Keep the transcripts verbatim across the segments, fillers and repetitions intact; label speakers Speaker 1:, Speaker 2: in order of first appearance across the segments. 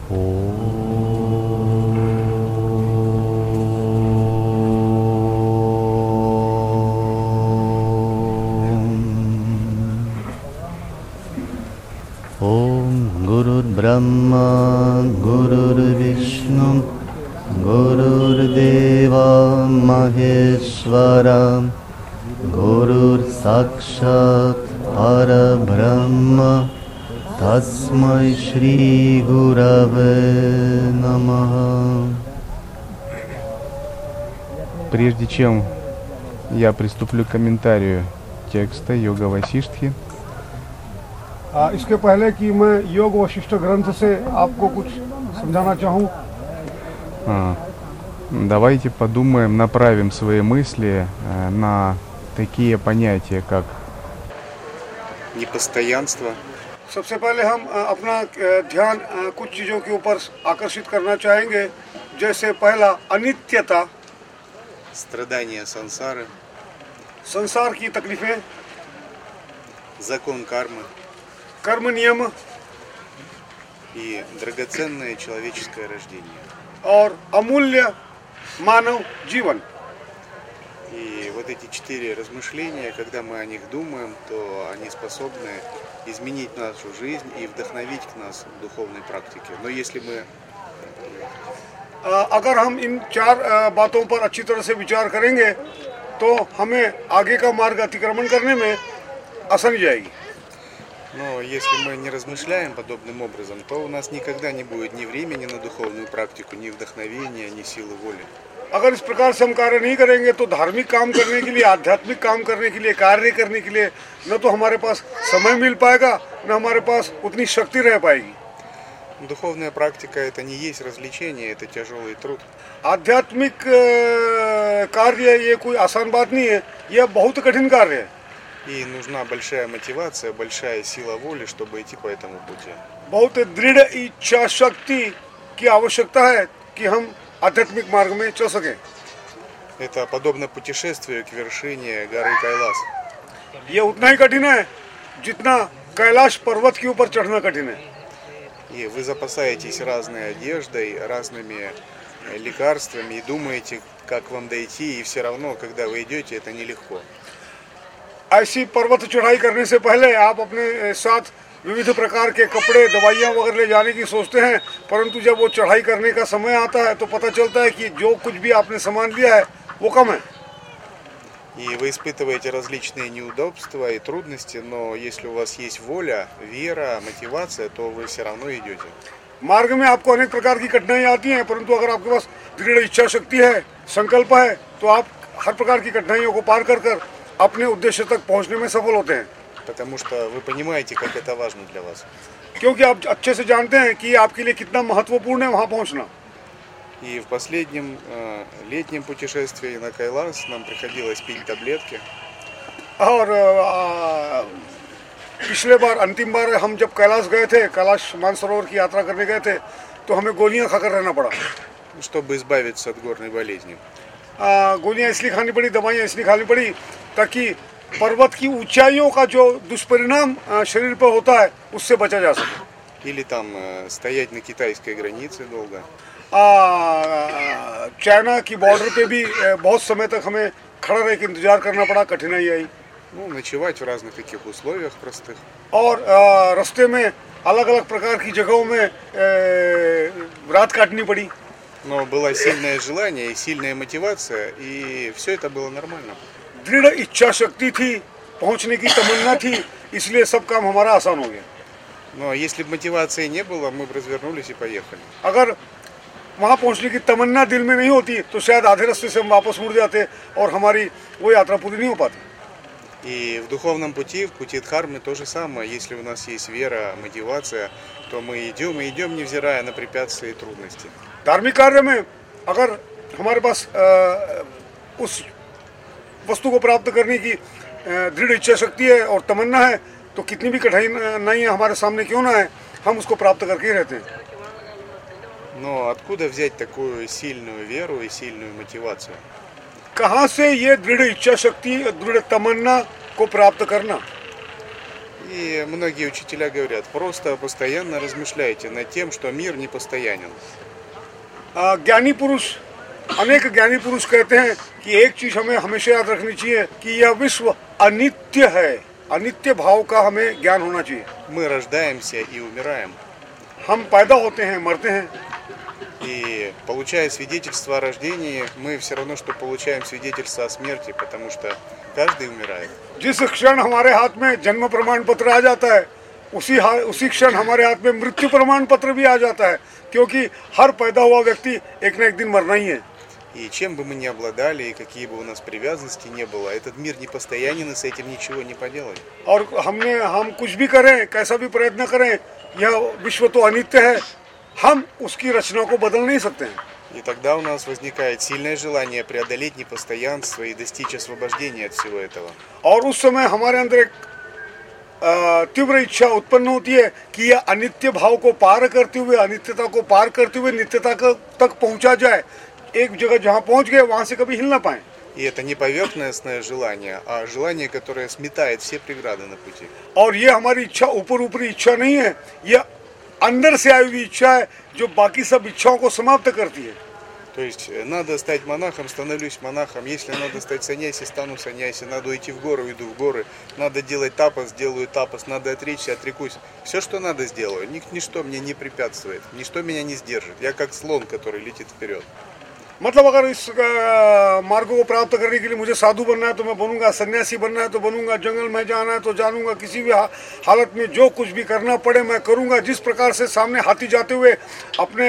Speaker 1: Brahma Gurur Vishnu Gurur Deva Maheshwara Gurur Sakshat Parabrahma Tasmai Shri Gurave Namaha.
Speaker 2: Прежде чем я приступлю к комментарию текста Йога Васиштхи,
Speaker 3: इसके पहले कि मैं योग वशिष्ठ ग्रंथ से आपको कुछ समझाना चाहूँ,
Speaker 2: давайте подумаем, направим свои мысли на такие понятия, как непостоянство.
Speaker 3: सबसे पहले हम अपना ध्यान कुछ चीज़ों के ऊपर आकर्षित करना चाहेंगे, जैसे पहला अनित्यता,
Speaker 2: страдания сансары,
Speaker 3: संसार की तकलीफें,
Speaker 2: закон кармы,
Speaker 3: कर्म नियम
Speaker 2: и драгоценное человеческое рождение.
Speaker 3: और अमूल्य मानव जीवन.
Speaker 2: И вот эти четыре размышления, когда мы о них думаем, то они способны изменить нашу жизнь и вдохновить к нас в духовной практике. Но если мы
Speaker 3: अगर हम इन चार बातों पर अच्छी तरह से विचार करेंगे, तो हमें आगे का मार्ग अतिक्रमण करने में आसानी जाएगी.
Speaker 2: Но если мы не размышляем подобным образом, то у нас никогда не будет ни времени на духовную практику, ни вдохновения, ни силы воли.
Speaker 3: अगर इस प्रकार से हम कार्य नहीं करेंगे, तो धार्मिक काम करने के लिए, आध्यात्मिक काम करने के लिए, कार्य करने के लिए न तो हमारे पास समय मिल पाएगा, न हमारे पास उतनी शक्ति रह पाएगी.
Speaker 2: Духовная практика это не есть развлечение, это тяжелый труд.
Speaker 3: आध्यात्मिक कार्य ये कोई आसान बात नहीं है, यह बहुत कठिन कार्य है.
Speaker 2: И нужна большая мотивация, большая сила воли, чтобы идти по этому пути.
Speaker 3: बहुत दृढ़ इच्छा शक्ति की आवश्यकता है कि हम आध्यात्मिक मार्ग में चल सकें.
Speaker 2: Это подобно путешествию к вершине горы Кайлас.
Speaker 3: ये उतना ही कठिन है जितना कैलाश पर्वत के ऊपर चढ़ना कठिन है.
Speaker 2: И вы запасаетесь разной одеждой, разными лекарствами и думаете, как вам дойти, и все равно, когда вы идете, это нелегко.
Speaker 3: ऐसी पर्वत चढ़ाई करने से पहले आप अपने साथ विविध प्रकार के कपड़े, दवाइयाँ वगैरह ले जाने की सोचते हैं, परंतु जब वो चढ़ाई करने का समय आता है तो पता चलता है कि जो कुछ भी आपने सामान लिया है वो कम है.
Speaker 2: И вы испытываете различные неудобства и трудности, но если у вас есть воля, вера, мотивация, то вы все равно идете.
Speaker 3: मार्ग में आपको अनेक प्रकार की कठिनाइयाँ आती हैं, परंतु अगर आपके पास दृढ़ इच्छा शक्ति है, संकल्प है, तो आप हर प्रकार की कठिनाइयों को पार कर कर अपने उद्देश्य तक पहुंचने में सफल होते हैं.
Speaker 2: Потому что вы понимаете, как это важно для вас.
Speaker 3: क्योंकि आप अच्छे से जानते हैं कि आपके लिए कितना महत्वपूर्ण है वहां पहुंचना.
Speaker 2: И в последнем э, летнем путешествии на Кайлас нам приходилось пить таблетки.
Speaker 3: और आ, पिछले बार अंतिम बार हम जब कैलाश गए थे, कैलाश मानसरोवर की यात्रा करने गए थे, तो हमें गोलियां खाकर रहना पड़ा.
Speaker 2: Чтобы избавиться от горной болезни.
Speaker 3: आ, गोलियां इसलिए खानी पड़ी, दवाइयां इसलिए खानी पड़ी ताकि पर्वत की ऊंचाइयों का जो दुष्परिणाम शरीर पर होता है उससे बचा जा सके.
Speaker 2: Или там э, стоять на китайской границе долго.
Speaker 3: चाइना की बॉर्डर पे भी बहुत समय तक हमें खड़ा रह के इंतजार करना पड़ा, कठिनाई आई.
Speaker 2: Ну, ночевать в разных таких условиях простых.
Speaker 3: और आ, रास्ते में अलग अलग प्रकार की जगहों में ए, रात काटनी पड़ी.
Speaker 2: Но было сильное желание и сильная мотивация, и все это было нормально.
Speaker 3: दृढ़ इच्छा शक्ति थी, पहुंचने की तमन्ना थी, इसलिए सब काम हमारा आसान हो गया.
Speaker 2: Но если бы мотивации не было, мы бы развернулись и поехали.
Speaker 3: अगर वहाँ पहुँचने की तमन्ना दिल में नहीं होती तो शायद आधे रास्ते से हम वापस मुड़ जाते और हमारी वो यात्रा पूरी नहीं हो पाती.
Speaker 2: И в духовном пути, в пути Дхармы то же самое. Если у нас есть вера, мотивация, то мы идем и идем, невзирая на препятствия и трудности.
Speaker 3: धार्मिक कार्य में अगर हमारे पास आ, उस वस्तु को प्राप्त करने की दृढ़ इच्छा शक्ति है और तमन्ना है, तो कितनी भी कठिनाइयाँ हमारे सामने क्यों ना है, हम उसको प्राप्त करके ही रहते हैं.
Speaker 2: Но откуда взять такую сильную веру и сильную мотивацию?
Speaker 3: कहाँ से ये दृढ़ इच्छा शक्ति, दृढ़ तमन्ना को प्राप्त करना?
Speaker 2: И многие учителя говорят, просто постоянно размышляйте над тем, что мир не постоянен.
Speaker 3: ज्ञानी पुरुष अनेक ज्ञानी पुरुष कहते हैं कि एक चीज हमें हमेशा याद रखनी चाहिए कि यह विश्व अनित्य है, अनित्य भाव का हमें ज्ञान होना चाहिए।
Speaker 2: Мы рождаемся и умираем.
Speaker 3: हम पैदा होते हैं, मरते हैं,
Speaker 2: И получая свидетельство о рождении, мы все равно, что получаем свидетельство о смерти, потому что каждый умирает.
Speaker 3: जिस क्षण हमारे हाथ में जन्म प्रमाण पत्र आ जाता है उसी हा- उसी क्षण हमारे हाथ में मृत्यु प्रमाण पत्र भी आ जाता है, क्योंकि हर पैदा हुआ व्यक्ति एक ना एक दिन मरना ही है।
Speaker 2: И чем бы мы ни обладали, и какие бы у нас привязанности не было, этот мир не постоянен, и с этим ничего не поделать.
Speaker 3: और हमने हम कुछ भी करें, कैसा भी प्रयत्न करें, यह विश्व तो अनित्य है, हम उसकी रचना को बदल नहीं सकते हैं।
Speaker 2: И тогда у нас возникает сильное желание преодолеть непостоянство и достичь освобождения от всего этого.
Speaker 3: और उस समय हमारे अंदर एक अ, तीव्र इच्छा उत्पन्न होती है कि यह अनित्य भाव को पार करते हुए, अनित्यता को पार करते हुए नित्यता क- तक पहुंचा जाए। एक जगह जहां पहुंच गए वहां से कभी हिल ना पाए।
Speaker 2: И это не поверхностное желание, а желание, которое сметает все преграды на пути.
Speaker 3: और ये हमारी इच्छा ऊपर ऊपरी इच्छा नहीं है, यह अंदर से आई हुई इच्छा है जो बाकी सब इच्छाओं को समाप्त करती है।
Speaker 2: То есть э, надо стать монахом, становлюсь монахом. Если надо стать саньяси, стану саньяси. Надо уйти в горы, уйду в горы. Надо делать тапос, делаю тапос. Надо отречься, отрекусь. Все, что надо, сделаю. Ник- Ничто мне не препятствует. Ничто меня не сдержит. Я как слон, который летит вперед.
Speaker 3: मतलब अगर इस अ, मार्ग को प्राप्त करने के लिए मुझे साधु बनना है तो मैं बनूंगा, सन्यासी बनना है तो बनूंगा, जंगल में जाना है तो जानूंगा, किसी भी हा- हालत में जो कुछ भी करना पड़े मैं करूंगा। जिस प्रकार से सामने हाथी जाते हुए अपने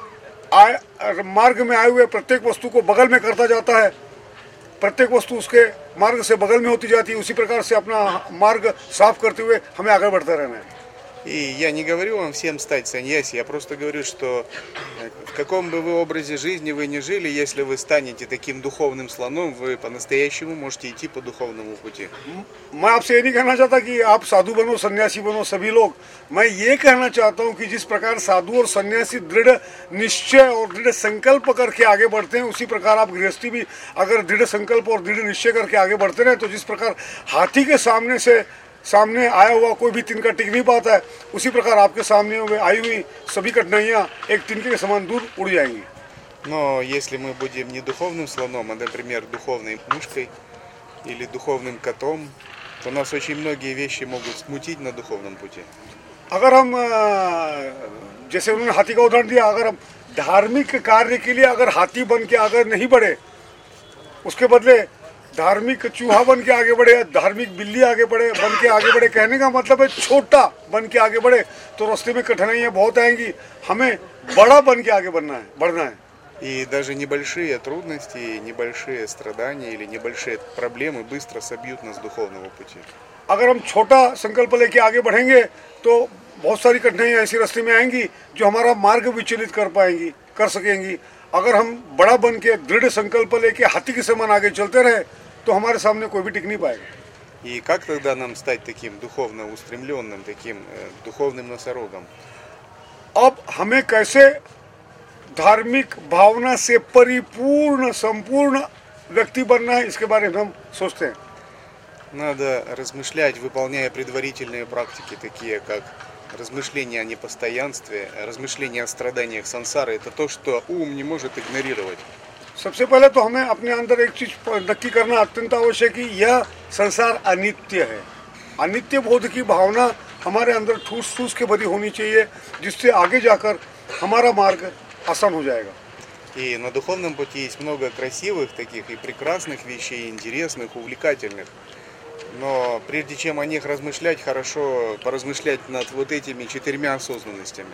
Speaker 3: आय, मार्ग में आए हुए प्रत्येक वस्तु को बगल में करता जाता है, प्रत्येक वस्तु उसके मार्ग से बगल में होती जाती है, उसी प्रकार से अपना मार्ग साफ करते हुए हमें आगे बढ़ते रहना है।
Speaker 2: И я не говорю вам всем стать саньяси, я просто говорю, что э, в каком бы вы образе жизни вы ни жили, если вы станете таким духовным слоном, вы по-настоящему можете идти по духовному пути.
Speaker 3: मैं आपसे ये नहीं कहना चाहता कि आप साधु बनो, सन्यासी बनो सभी लोग। मैं ये कहना चाहता हूँ कि जिस प्रकार साधु और सन्यासी दृढ़ निश्चय और दृढ़ संकल्प करके आगे बढ़ते हैं, उसी प्रकार आप गृहस्थी भी अगर दृढ़ संकल्प और दृढ़ निश्चय करके आगे बढ़ते रहे तो जिस प्रकार हाथी के सामने से सामने आया हुआ कोई भी तिनका टिक नहीं पाता है, उसी प्रकार आपके सामने हुए आई हुई सभी कठिनाइयाँ एक तिनके के समान दूर उड़ जाएंगी।
Speaker 2: Но если мы будем не духовным слоном, а, например, духовной мышкой или духовным котом, то нас очень многие вещи могут смутить на духовном пути.
Speaker 3: अगर हम अ, जैसे उन्होंने हाथी का उदाहरण दिया, अगर हम धार्मिक कार्य के लिए अगर हाथी बन के आगे नहीं बढ़े, उसके बदले धार्मिक चूहा बन के आगे बढ़े, धार्मिक बिल्ली आगे बढ़े बन के आगे बढ़े, कहने का मतलब है छोटा बन के आगे बढ़े तो रास्ते में कठिनाइयाँ बहुत आएंगी। हमें बड़ा बन के आगे बढ़ना है, बढ़ना है।
Speaker 2: И даже небольшие трудности, небольшие страдания или небольшие проблемы быстро собьют нас с духовного пути.
Speaker 3: अगर हम छोटा संकल्प लेके आगे बढ़ेंगे तो बहुत सारी कठिनाइयाँ ऐसी रास्ते में आएंगी जो हमारा मार्ग विचलित कर पाएंगी, कर सकेंगी। अगर हम बड़ा बन के दृढ़ संकल्प लेके हाथी के समान आगे चलते रहे तो हमारे सामने कोई भी टिक नहीं पाएगा।
Speaker 2: И как тогда нам стать таким духовно устремленным, таким э, духовным носорогом?
Speaker 3: अब हमें कैसे धार्मिक भावना से परिपूर्ण संपूर्ण व्यक्ति बनना है, इसके बारे में हम सोचते हैं।
Speaker 2: Надо размышлять, выполняя предварительные практики, такие как размышления о непостоянстве, размышления о страданиях сансары. Это то, что ум не может игнорировать.
Speaker 3: सबसे पहले तो हमें अपने अंदर एक चीज नक्की करना अत्यंत आवश्यक है कि यह संसार अनित्य है। अनित्य बोध की भावना हमारे अंदर ठूस ठूस के भरी होनी चाहिए, जिससे आगे जाकर हमारा मार्ग आसान हो जाएगा।
Speaker 2: И на духовном пути есть много красивых таких и прекрасных вещей, интересных, увлекательных. Но прежде чем о них размышлять, хорошо поразмышлять над вот этими четырьмя осознанностями.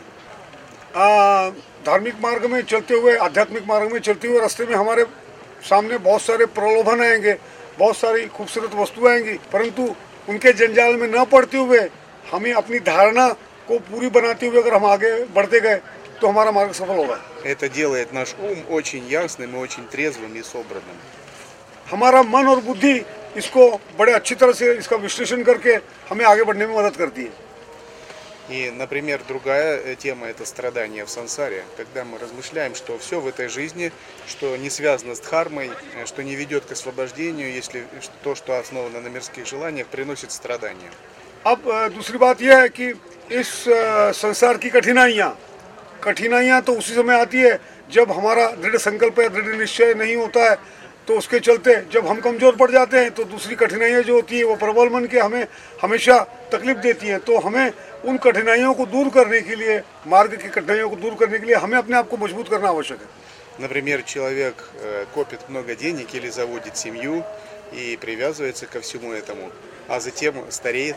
Speaker 3: आ, धार्मिक मार्ग में चलते हुए, आध्यात्मिक मार्ग में चलते हुए रास्ते में हमारे सामने बहुत सारे प्रलोभन आएंगे, बहुत सारी खूबसूरत वस्तुएं आएंगी, परंतु उनके जंजाल में न पड़ते हुए हमें अपनी धारणा को पूरी बनाते हुए अगर हम आगे बढ़ते गए तो हमारा मार्ग सफल होगा।
Speaker 2: Это делает наш ум очень ясным и очень трезвым и собранным.
Speaker 3: हमारा मन और बुद्धि इसको बड़े अच्छी तरह से इसका विश्लेषण करके हमें आगे बढ़ने में मदद करती है।
Speaker 2: И, например, другая тема – это страдания в сансаре, когда мы размышляем, что все в этой жизни, что не связано с дхармой, что не ведет к освобождению, если то, что основано на мирских желаниях, приносит страдания.
Speaker 3: अब अ, दूसरी बात यह है कि इस अ, संसार की कठिनाइयाँ कठिनाइयाँ तो उसी समय आती है जब हमारा दृढ़ संकल्प या दृढ़ निश्चय नहीं होता है। तो उसके चलते जब हम कमज़ोर पड़ जाते हैं तो दूसरी कठिनाइयाँ जो होती है वो प्रबल मन के हमें हमेशा तकलीफ देती हैं। तो हमें उन कठिनाइयों को दूर करने के लिए, मार्ग की कठिनाइयों को दूर करने के लिए हमें अपने आप को मजबूत करना आवश्यक है।
Speaker 2: Например, человек э, копит много денег или заводит семью и привязывается ко всему этому, а затем стареет.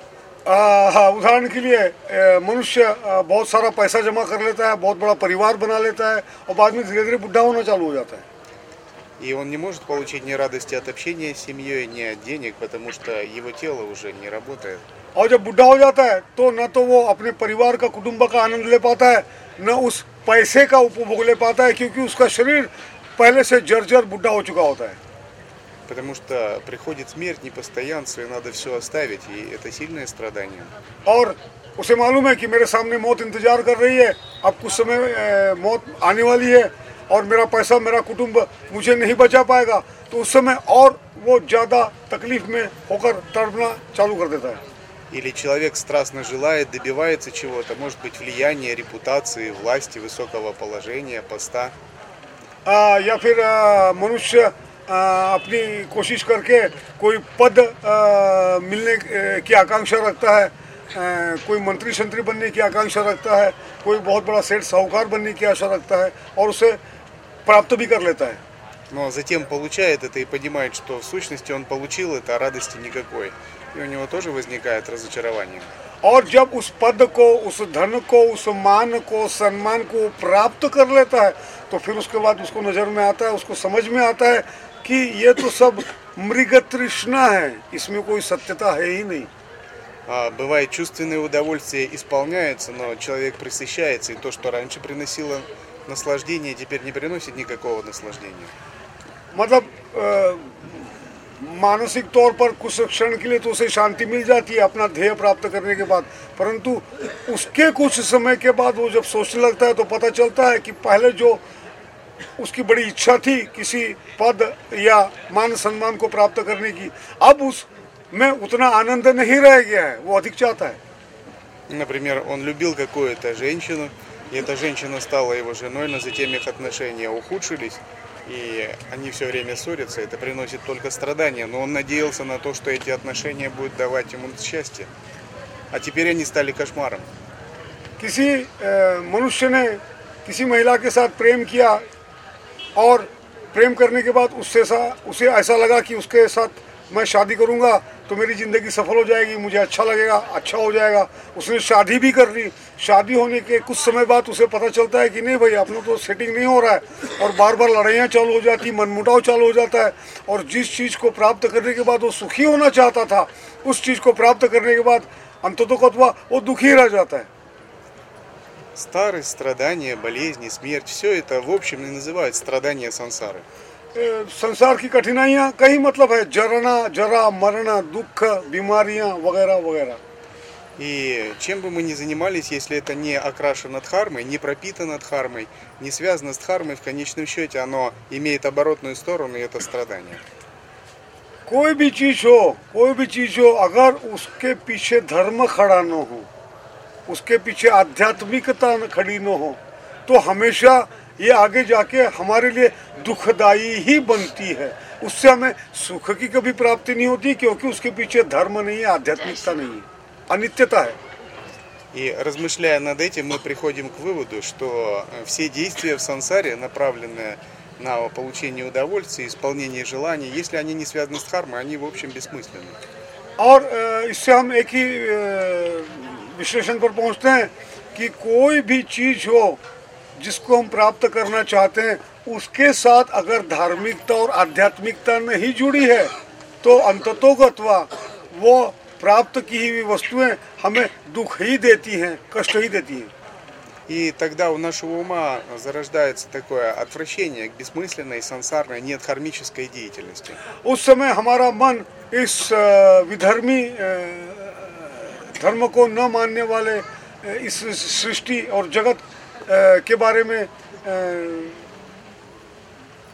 Speaker 3: आ, हाँ, उदाहरण के लिए अ, मनुष्य अ, बहुत सारा पैसा जमा कर लेता है, बहुत बड़ा परिवार बना लेता है और बाद में धीरे धीरे बुढ़ा होना चालू हो जाता है।
Speaker 2: И он не может получить ни радости от общения с семьей, ни от денег, потому что его тело уже не работает.
Speaker 3: और जब बुढ़ा हो जाता है तो न तो वो अपने परिवार का, कुटुंब का आनंद ले पाता है, न उस पैसे का उपभोग ले पाता है, क्योंकि उसका शरीर पहले से जर्जर बुढ़ा हो चुका होता है।
Speaker 2: Потому что приходит смерть, непостоянство, и надо все оставить, и это сильное страдание.
Speaker 3: और उसे मालूम है कि मेरे सामने मौत इंतजार कर रही है, अब कुछ समय अ, मौत आने वाली है और मेरा पैसा, मेरा कुटुंब मुझे नहीं बचा पाएगा, तो उस समय और वो ज़्यादा तकलीफ में होकर तड़पना चालू कर देता है।
Speaker 2: Или человек страстно желает, добивается чего-то, может быть влияния, репутации, власти, высокого положения, поста.
Speaker 3: आ, या फिर आ, मनुष्य आ, अपनी कोशिश करके कोई पद आ, मिलने आ, की आकांक्षा रखता है, आ, कोई मंत्री शंत्री बनने की आकांक्षा रखता है, कोई बहुत बड़ा सेठ साहूकार बनने की आशा रखता है और उसे प्राप्त भी कर लेता है।
Speaker 2: Но затем получает это и понимает, что в сущности он получил это, а радости никакой. И у него тоже возникает разочарование.
Speaker 3: और जब उस पद को, उस धन को, उस मान को, सम्मान को प्राप्त कर लेता है तो फिर उसके बाद उसको नज़र में आता है, उसको समझ में आता है कि ये तो सब मृग तृष्णा है, इसमें कोई सत्यता है ही नहीं।
Speaker 2: А, бывает, чувственные удовольствия исполняются, но человек пресыщается, и то, что раньше приносило наслаждение, теперь не приносит никакого наслаждения.
Speaker 3: मतलब अ, मानसिक तौर पर कुछ क्षण के लिए तो उसे शांति मिल जाती है अपना ध्येय प्राप्त करने के बाद, परंतु उसके कुछ समय के बाद वो जब सोचने लगता है तो पता चलता है कि पहले जो उसकी बड़ी इच्छा थी किसी पद या मान सम्मान को प्राप्त करने की, अब उसमें उतना आनंद नहीं रह गया है, वो अधिक चाहता है।
Speaker 2: Например, он любил какую-то женщину, и эта женщина стала его женой, но затем их отношения ухудшились, и они все время ссорятся, это приносит только страдания, но он надеялся на то, что эти отношения будут давать ему счастье, а теперь они стали кошмаром.
Speaker 3: किसी अ, मनुष्य ने किसी महिला के साथ प्रेम किया और प्रेम करने के बाद उससे सा उसे ऐसा लगा कि उसके साथ मैं शादी करूंगा तो मेरी ज़िंदगी सफल हो जाएगी, मुझे अच्छा लगेगा, अच्छा हो जाएगा। उसने शादी भी कर ली। शादी होने के कुछ समय बाद उसे पता चलता है कि नहीं भाई, अपना तो सेटिंग नहीं हो रहा है और बार बार लड़ाइयाँ चालू हो जाती, मनमुटाव चालू हो जाता है, और जिस चीज़ को प्राप्त करने के बाद वो सुखी होना चाहता था, उस चीज़ को प्राप्त करने के बाद अंततः वो दुखी रह जाता है।
Speaker 2: Старость, страдания, болезни, смерть – все это в общем и называют страдания сансары.
Speaker 3: ए, संसार की कठिनाइयाँ कई मतलब है, जरना, जरा, मरना, दुख, बीमारियाँ वगैरह वगैरह।
Speaker 2: И чем бы мы ни занимались, если это не окрашено дхармой, не пропитано дхармой, не связано с дхармой, в конечном счете оно имеет оборотную сторону, и это страдание.
Speaker 3: कोई भी चीज हो, कोई भी चीज हो, अगर उसके पीछे धर्म खड़ा न हो, उसके पीछे आध्यात्मिकता न खड़ी न हो, तो हमेशा ये आगे जाके हमारे लिए दुखदाई ही बनती है। उससे हमें सुख की कभी प्राप्ति नहीं होती, क्योंकि उसके पीछे धर्म नहीं है, आध्यात्मिकता नहीं है, अनित्यता है।
Speaker 2: И размышляя над этим, мы приходим к выводу, что все действия в сансаре, направленные на получение удовольствия, исполнение желаний, если они не связаны с дхармой, они в общем бессмысленны.
Speaker 3: और इससे हम एक ही विश्लेषण पर पहुंचते हैं कि कोई भी चीज हो जिसको हम प्राप्त करना चाहते हैं, उसके साथ अगर धार्मिकता और आध्यात्मिकता नहीं जुड़ी है तो अंततोगत्वा वो प्राप्त की हुई वस्तुएं हमें दुख ही देती हैं, कष्ट ही देती हैं।
Speaker 2: И тогда у нашего ума зарождается такое отвращение к бессмысленной, сансарной, недхармической деятельности.
Speaker 3: उस समय हमारा मन इस विधर्मी धर्म को न मानने वाले इस सृष्टि और जगत के बारे में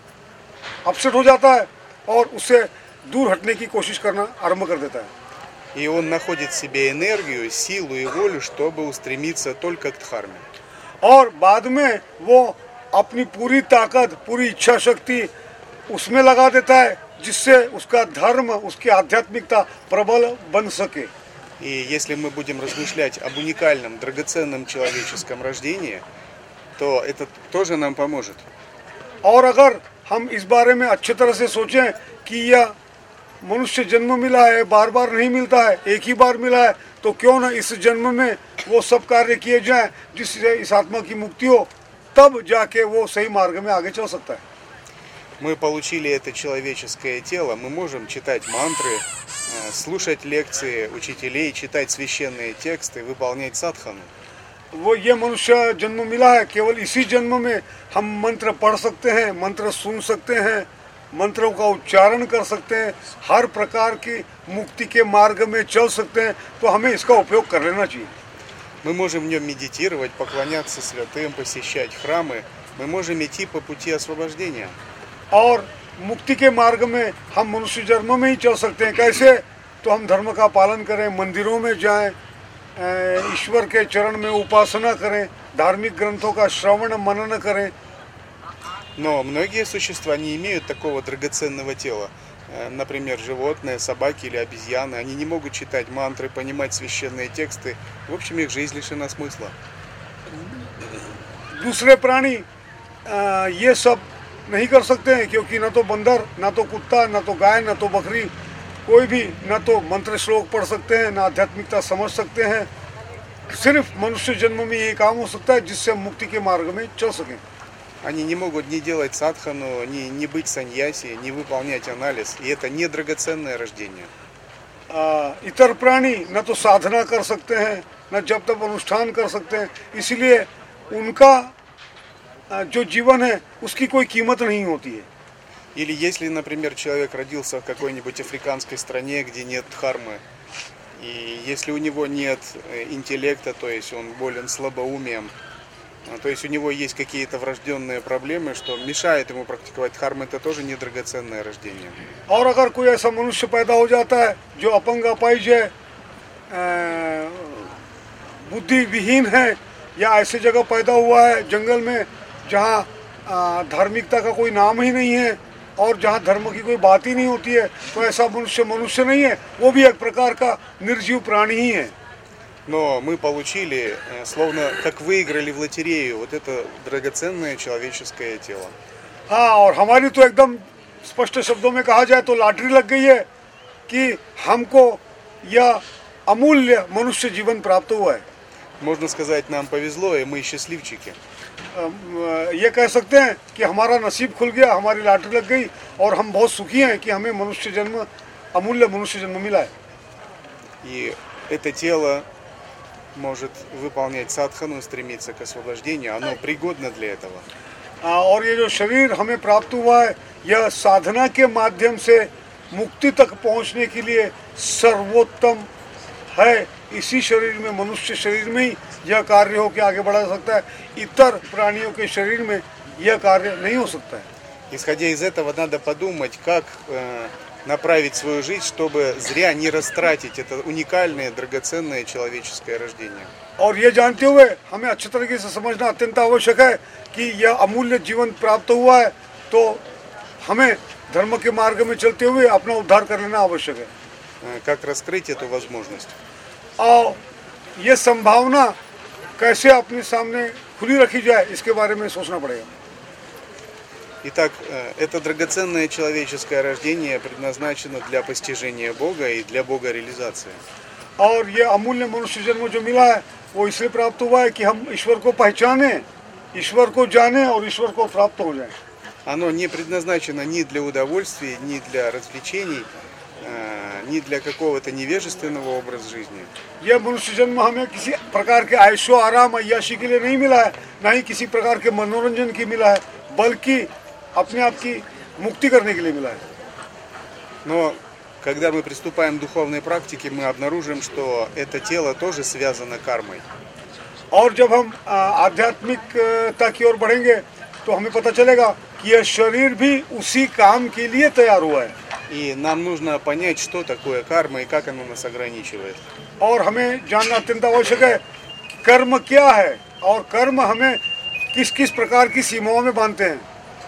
Speaker 3: अपसेट हो जाता है और उससे दूर हटने की कोशिश करना आरंभ कर देता है।
Speaker 2: И он находит в себе энергию, силу и волю, чтобы устремиться только к дхарме.
Speaker 3: और बाद में वो अपनी पूरी ताकत, पूरी इच्छा शक्ति उसमें लगा देता है जिससे उसका धर्म, उसकी आध्यात्मिकता प्रबल बन सके।
Speaker 2: И если мы будем размышлять об уникальном, драгоценном человеческом рождении, то это тоже нам поможет.
Speaker 3: और अगर हम इस बारे में अच्छी तरह से सोचें कि यह मनुष्य जन्म मिला है, बार बार नहीं मिलता है, एक ही बार मिला है, तो क्यों ना इस जन्म में वो सब कार्य किए जाएं जिससे इस आत्मा की मुक्ति हो, तब जाके वो सही मार्ग में आगे चल सकता है।
Speaker 2: Мы получили это человеческое тело, мы можем читать мантры, слушать лекции учителей, читать священные тексты, выполнять садхану.
Speaker 3: वो ये मनुष्य जन्म मिला है, केवल इसी जन्म में हम मंत्र पढ़ सकते हैं, मंत्र सुन सकते हैं, मंत्रों का उच्चारण कर सकते हैं, हर प्रकार की मुक्ति के मार्ग में चल सकते हैं, तो हमें इसका उपयोग कर लेना चाहिए।
Speaker 2: Мы можем в нем медитировать, поклоняться святым, посещать храмы. Мы можем идти по пути освобождения.
Speaker 3: और मुक्ति के मार्ग में हम मनुष्य जन्म में ही चल सकते हैं। कैसे? तो हम धर्म का पालन करें, मंदिरों में जाएं, ईश्वर के चरण में उपासना करें, धार्मिक ग्रंथों का श्रवण मनन करें।
Speaker 2: Но многие существа не имеют такого драгоценного тела. Например, животные, собаки или обезьяны. Они не могут читать мантры, понимать священные тексты. В общем, их жизнь лишена смысла.
Speaker 3: दूसरे प्राणी ये सब नहीं कर सकते हैं, क्योंकि न तो बंदर, न तो कुत्ता, न तो गाय, न तो बकरी, कोई भी न तो मंत्र श्लोक पढ़ सकते हैं, न आध्यात्मिकता समझ सकते हैं। सिर्फ मनुष्य जन्म में ये काम हो सकता है जिससे मुक्ति के मार्ग में चल सकें।
Speaker 2: Они не могут ни делать садхану, ни, ни быть саньяси, ни выполнять анализ. И это не драгоценное рождение.
Speaker 3: इतर प्राणी न तो साधना कर सकते हैं, न जब तक अनुष्ठान कर सकते हैं, इसलिए उनका जो जीवन है उसकी कोई कीमत नहीं होती है।
Speaker 2: Или если, например, человек родился в какой-нибудь африканской стране, где нет дхармы, и если у него нет интеллекта, то есть он болен слабоумием, то есть у него есть какие-то врожденные проблемы, что мешает ему практиковать дхарму, это тоже не драгоценное рождение.
Speaker 3: और अगर कोई ऐसा मनुष्य पैदा हो जाता है जो अपंग अपाहिज है, बुद्धि विहीन है, या ऐसी जगह पैदा हुआ है जंगल में जहाँ धार्मिकता का कोई नाम ही नहीं है और जहाँ धर्म की कोई बात ही नहीं होती है, तो ऐसा मनुष्य मनुष्य नहीं है, वो भी एक प्रकार का निर्जीव प्राणी ही है।
Speaker 2: Но мы получили, словно как выиграли в лотерею, вот это драгоценное человеческое тело.
Speaker 3: हाँ, और हमारी तो एकदम स्पष्ट शब्दों में कहा जाए तो लॉटरी लग गई है कि हमको यह अमूल्य मनुष्य जीवन प्राप्त हुआ है।
Speaker 2: Можно сказать, нам повезло, и мы счастливчики.
Speaker 3: ये कह सकते हैं कि हमारा नसीब खुल गया, हमारी लॉटरी लग गई और हम बहुत सुखी हैं कि हमें मनुष्य जन्म, अमूल्य मनुष्य जन्म मिला है।
Speaker 2: И это тело может выполнять садхану, стремиться к освобождению, оно пригодно для этого.
Speaker 3: और ये जो शरीर हमें प्राप्त हुआ है, यह साधना के माध्यम से मुक्ति तक पहुंचने के लिए सर्वोत्तम है। इसी शरीर में, मनुष्य शरीर में ही यह कार्य हो के आगे बढ़ा सकता है, इतर प्राणियों के शरीर में यह कार्य नहीं हो सकता है।
Speaker 2: Исходя из этого, надо подумать, как э, направить свою жизнь, чтобы зря не растратить это уникальное, драгоценное человеческое рождение.
Speaker 3: और ये जानते हुए हमें अच्छी तरीके से समझना अत्यंत आवश्यक है कि यह अमूल्य जीवन प्राप्त हुआ है, तो हमें धर्म के मार्ग में चलते हुए अपना उद्धार कर लेना आवश्यक है।
Speaker 2: Как раскрыть эту возможность?
Speaker 3: और ये संभावना कैसे अपने सामने खुली रखी जाए, इसके बारे में सोचना पड़ेगा।
Speaker 2: Итак, это драгоценное человеческое рождение предназначено для постижения Бога и для Бога реализации.
Speaker 3: और ये अमूल्य मनुष्य जन्म जो मिला है वो इसलिए प्राप्त हुआ है कि हम ईश्वर को पहचाने, ईश्वर को जाने और ईश्वर को प्राप्त हो जाए।
Speaker 2: Оно не предназначено ни для удовольствия, ни для развлечений, ни для какого-то невежественного образа жизни.
Speaker 3: यह मनुष्य जन्म हमें किसी प्रकार के ऐशो आराम अय्याशी के लिए नहीं मिला है, न ही किसी प्रकार के मनोरंजन की मिला है, बल्कि अपने आप की मुक्ति करने के लिए मिला है।
Speaker 2: Но когда мы приступаем к духовной практике, мы обнаружим, что это тело тоже связано кармой.
Speaker 3: और जब हम आध्यात्मिकता की ओर बढ़ेंगे तो हमें पता चलेगा कि यह शरीर भी उसी काम के लिए तैयार हुआ है।
Speaker 2: И нам нужно понять, что такое карма и как оно нас ограничивает.
Speaker 3: और हमें जानना अत्यंत आवश्यक है कि कर्म क्या है और कर्म हमें किस किस प्रकार की सीमाओं में बांधते हैं।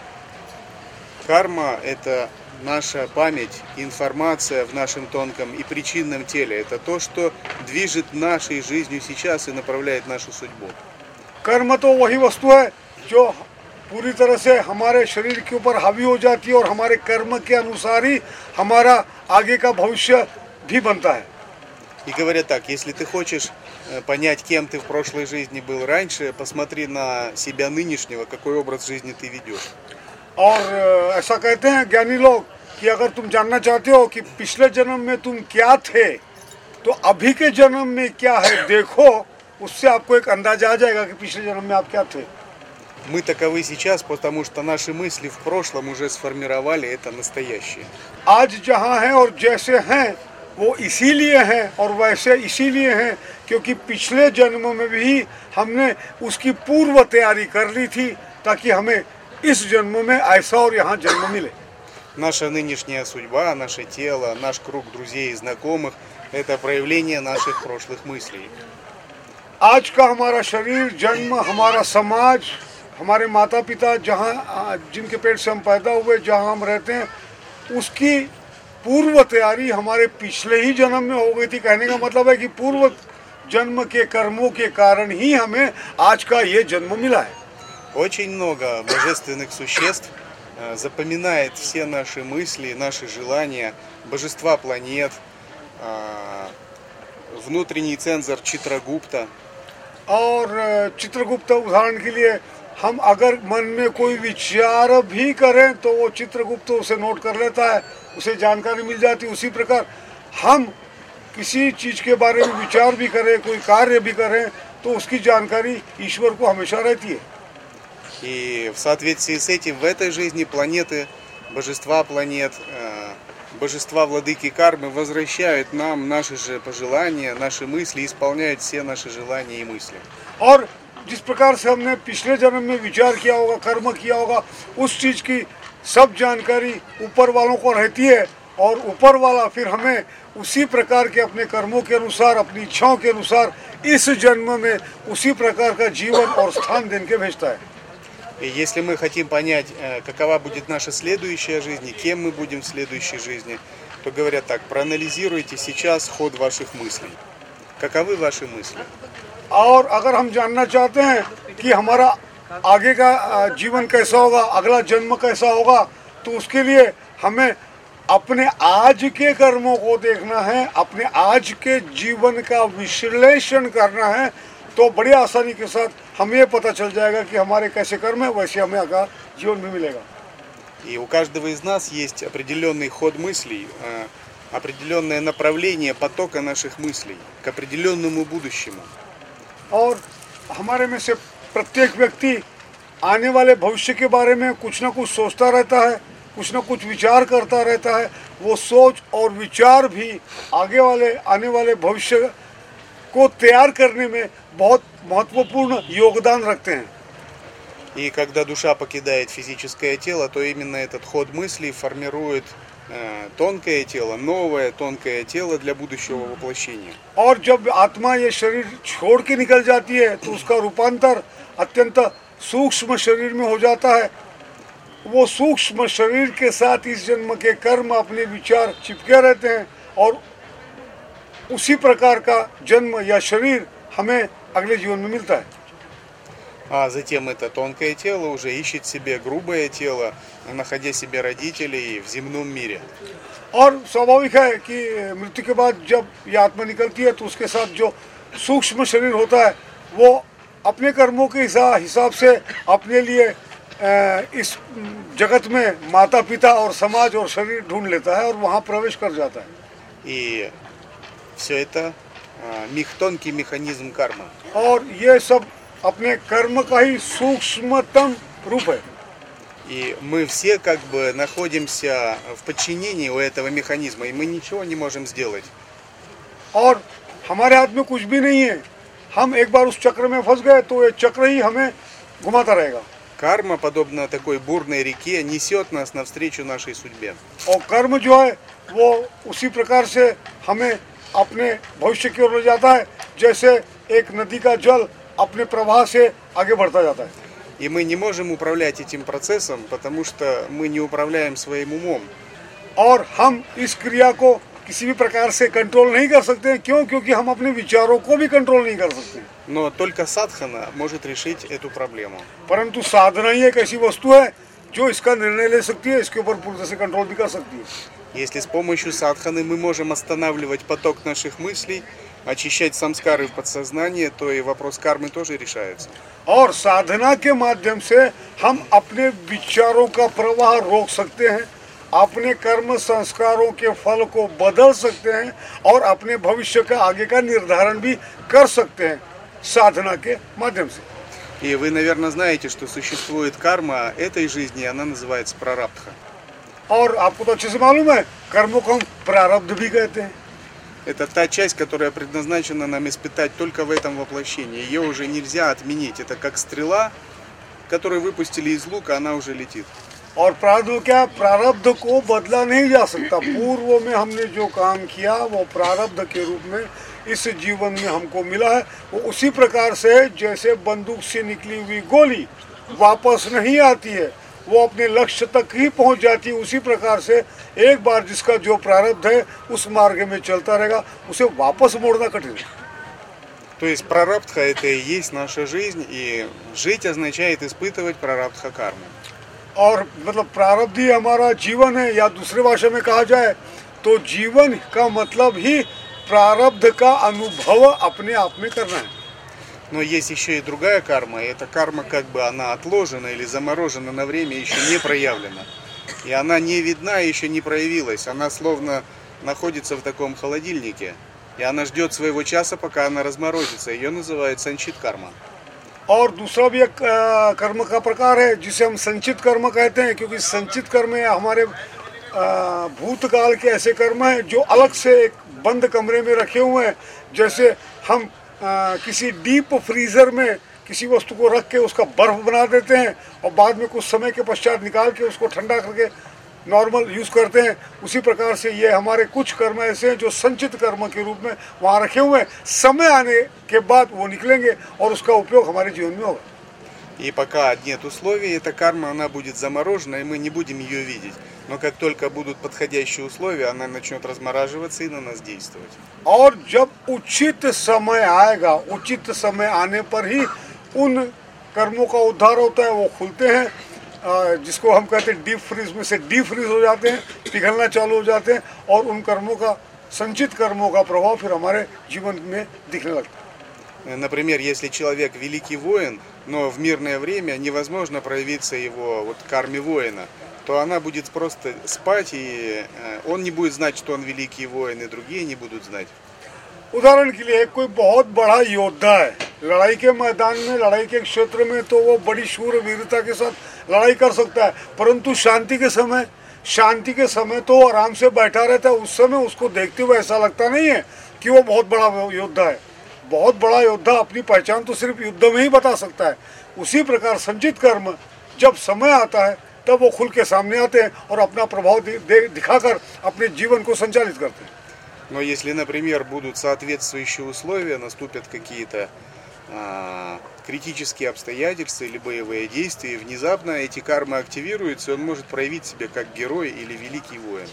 Speaker 2: Карма – это наша память, информация в нашем тонком и причинном теле. Это то, что движет нашей жизнью сейчас и направляет нашу судьбу.
Speaker 3: कर्म तो वही वस्तु है जो पूरी तरह से हमारे शरीर के ऊपर हावी हो जाती है और हमारे कर्म के अनुसार ही हमारा आगे का भविष्य भी बनता है।
Speaker 2: И говорят так, если ты хочешь понять, кем ты в прошлой жизни был раньше, посмотри на себя нынешнего, какой образ жизни ты ведешь.
Speaker 3: और ऐसा कहते हैं ज्ञानी लोग कि अगर तुम जानना चाहते हो कि पिछले जन्म में तुम क्या थे तो अभी के जन्म में क्या है देखो, उससे आपको एक अंदाजा आ जाएगा कि पिछले जन्म में आप क्या थे।
Speaker 2: Мы таковы сейчас, потому что наши мысли в прошлом уже сформировали это настоящее.
Speaker 3: आज जहाँ हैं और जैसे हैं वो इसीलिए हैं और वैसे इसीलिए हैं क्योंकि पिछले जन्म में भी हमने उसकी पूर्व तैयारी कर ली थी ताकि हमें इस जन्म में ऐसा और यहाँ जन्म मिले।
Speaker 2: Наша нынешняя судьба, наше тело, наш круг друзей и знакомых – это проявление наших прошлых мыслей.
Speaker 3: आज का हमारा शरीर, जन्म, हमारा समाज, हमारे माता पिता जहाँ जिनके पेट से हम पैदा हुए, जहाँ हम रहते हैं, उसकी पूर्व तैयारी हमारे पिछले ही जन्म में हो गई थी। कहने का मतलब है कि पूर्व जन्म के कर्मों के कारण ही हमें आज का ये जन्म मिला है।
Speaker 2: Очень много божественных существ запоминает все наши мысли, наши желания, божества планет, внутренний цензор Читрагупта.
Speaker 3: और चित्रगुप्त उदाहरण के लिए हम अगर मन में कोई विचार भी करें तो वो चित्रगुप्त उसे नोट कर लेता है, उसे जानकारी मिल जाती है। उसी प्रकार हम किसी चीज़ के बारे में विचार भी करें, कोई कार्य भी करें तो उसकी जानकारी ईश्वर को हमेशा रहती है।
Speaker 2: И в соответствии с этим в этой жизни планеты, божества планет, божества владыки кармы возвращают нам наши же пожелания, наши мысли, исполняют все наши желания и мысли.
Speaker 3: और जिस प्रकार से हमने पिछले जन्म में विचार किया होगा, कर्म किया होगा, उस चीज़ की सब जानकारी ऊपर वालों को रहती है और ऊपर वाला फिर हमें उसी प्रकार के अपने कर्मों के अनुसार, अपनी इच्छाओं के अनुसार इस जन्म में उसी प्रकार का जीवन और स्थान देने के भेजता है।
Speaker 2: И если мы хотим понять, какова будет наша следующая жизнь, кем мы будем в следующей жизни, то говорят так, проанализируйте сейчас ход ваших мыслей. Каковы ваши мысли?
Speaker 3: और अगर हम जानना चाहते हैं कि हमारा आगे का जीवन कैसा होगा, अगला जन्म कैसा होगा, तो उसके लिए हमें अपने आज के कर्मों को देखना है, अपने आज के जीवन का विश्लेषण करना है, तो बड़ी आसानी के साथ हमें ये पता चल जाएगा कि हमारे कैसे कर्म है, वैसे हमें आगे जीवन भी मिलेगा।
Speaker 2: И у каждого из нас есть определенный ход мыслей, определенное направление потока наших мыслей к определенному будущему.
Speaker 3: और हमारे में से प्रत्येक व्यक्ति आने वाले भविष्य के बारे में कुछ ना कुछ सोचता रहता है, कुछ ना कुछ विचार करता रहता है। वो सोच और विचार भी आगे वाले आने वाले भविष्य को तैयार करने में बहुत महत्वपूर्ण योगदान रखते हैं।
Speaker 2: И когда душа покидает физическое тело, то именно этот ход мыслей формирует э, тонкое тело, новое тонкое тело для будущего воплощения.
Speaker 3: और जब आत्मा ये शरीर छोड़ के निकल जाती है तो उसका रूपांतर अत्यंत सूक्ष्म शरीर में हो जाता है। वो सूक्ष्म शरीर के साथ इस जन्म के कर्म, अपने विचार चिपके रहते हैं और उसी प्रकार का जन्म या शरीर हमें अगले जीवन में मिलता है।
Speaker 2: А затем это тонкое тело уже ищет себе грубое тело, находя себе родителей в земном мире.
Speaker 3: और स्वाभाविक है कि मृत्यु के बाद जब ये आत्मा निकलती है तो उसके साथ जो सूक्ष्म शरीर होता है वो अपने कर्मों के हिसाब से अपने लिए इस जगत में माता पिता और समाज और शरीर ढूंढ लेता है और वहाँ प्रवेश कर जाता है।
Speaker 2: И все это мех, тонкий механизм кармы.
Speaker 3: और ये सब अपने कर्म का ही सूक्ष्मतम रूप है।
Speaker 2: И мы все как бы находимся в подчинении у этого механизма, и мы ничего не можем сделать.
Speaker 3: और हमारे हाथ में कुछ भी नहीं है। हम एक बार उस चक्र में फंस गए तो ये चक्र ही हमें घुमाता रहेगा।
Speaker 2: Карма, подобно такой бурной реке, несет нас навстречу нашей судьбе.
Speaker 3: और कर्म जो है वो उसी प्रकार से हमें अपने भविष्य की ओर ले जाता है जैसे एक नदी का जल अपने प्रवाह से आगे बढ़ता जाता है.
Speaker 2: И мы не можем управлять этим процессом, потому что мы не управляем своим умом.
Speaker 3: और हम इस क्रिया को किसी भी प्रकार से कंट्रोल नहीं कर सकते हैं. क्यों? क्योंकि हम अपने विचारों को भी कंट्रोल नहीं कर सकते.
Speaker 2: Но только садхана может решить эту проблему.
Speaker 3: परंतु साधना ही एक ऐसी वस्तु है जो इसका निर्णय ले सकती है, इसके ऊपर पूरी तरह से कंट्रोल भी कर सकती है.
Speaker 2: Если с помощью садханы мы можем останавливать поток наших мыслей, очищать самскары в подсознание, то и вопрос кармы тоже решается.
Speaker 3: और साधना के माध्यम से हम अपने विचारों का प्रवाह रोक सकते हैं, अपने कर्म संस्कारों के फल को बदल सकते हैं और अपने भविष्य का आगे का निर्धारण भी कर सकते हैं साधना के माध्यम से.
Speaker 2: И вы, наверное, знаете, что существует карма этой жизни, она называется прарабдха.
Speaker 3: और आपको तो अच्छे से मालूम है कर्मों को हम प्रारब्ध भी कहते हैं.
Speaker 2: Это та часть, которая предназначена нам испытать только в этом воплощении. Ее уже нельзя отменить. Это как стрела, которую выпустили из лука, она уже летит.
Speaker 3: और प्रारब्ध क्या? प्रारब्ध को बदला नहीं जा सकता. पूर्व में हमने जो काम किया वो प्रारब्ध के रूप में इस जीवन में हमको मिला है. वो उसी प्रकार से जैसे बंदूक से निकली हुई गोली वापस नहीं आती है, वो अपने लक्ष्य तक ही पहुंच जाती है. उसी प्रकार से एक बार जिसका जो प्रारब्ध है उस मार्ग में चलता रहेगा, उसे वापस मोड़ना कठिन है.
Speaker 2: То есть прарабдха это и есть наша жизнь, и жить означает испытывать прарабдха карму.
Speaker 3: और मतलब प्रारब्ध ही हमारा जीवन है, या दूसरे भाषा में कहा जाए तो जीवन का मतलब ही प्रारब्ध का अनुभव अपने आप में करना है.
Speaker 2: Но есть еще и другая карма, и эта карма как бы она отложена или заморожена на время, еще не проявлена. И она не видна, еще не проявилась. Она словно находится в таком холодильнике, и она ждет своего часа, пока она разморозится. Ее называют санчит карма.
Speaker 3: और दूसरा भी एक कर्म का प्रकार है जिसे हम संचित कर्म कहते हैं, क्योंकि संचित कर्म है हमारे भूतकाल के ऐसे कर्म हैं जो अलग से एक बंद कमरे में रखे हुए हैं. जैसे हम आ, किसी डीप फ्रीजर में किसी वस्तु को रख के उसका बर्फ बना देते हैं और बाद में कुछ समय के पश्चात निकाल के उसको ठंडा करके नॉर्मल यूज़ करते हैं. उसी प्रकार से ये हमारे कुछ कर्म ऐसे हैं जो संचित कर्म के रूप में वहाँ रखे हुए हैं. समय आने के बाद वो निकलेंगे और उसका उपयोग हमारे जीवन में होगा.
Speaker 2: И пока нет условий, эта карма она будет заморожена, и мы не будем ее видеть. Но как только будут подходящие условия, она начнет размораживаться и на нас действовать.
Speaker 3: और जब उचित समय आएगा, उचित समय आने पर ही उन कर्मों का उद्धार होता है. वो खुलते हैं, जिसको हम कहते हैं डीप फ्रीज में से डीप फ्रीज हो जाते हैं, पिघलना चालू हो जाते हैं और उन कर्मों का संचित कर्मों का प्रभाव फिर हमारे जीवन में दिखने लगता है.
Speaker 2: Например, если человек великий воин, но в мирное время невозможно проявиться его вот карме воина, то она будет просто спать, и он не будет знать, что он великий воин, и другие не будут знать.
Speaker 3: उदाहरण के लिए कोई बहुत बड़ा योद्धा है, लड़ाई के मैदान में, लड़ाई के क्षेत्र में तो वो बड़ी शूर वीरता के साथ लड़ाई कर सकता है, परंतु शांति के समय शांति के समय तो आराम से बैठा रहता है. उस समय उसको देखते हुए ऐसा लगता नहीं है कि वो बहुत बड़ा योद्धा है. बहुत बड़ा योद्धा अपनी पहचान तो सिर्फ युद्ध में ही बता सकता है. उसी प्रकार संचित कर्म जब समय आता है तब वो खुल के सामने आते हैं और अपना प्रभाव दिखाकर अपने जीवन को संचालित करते हैं.
Speaker 2: Но если, например, будут соответствующие условия, наступят какие-то а, критические обстоятельства или боевые действия, и внезапно эти кармы активируются, и он может проявить себя как герой или великий воин.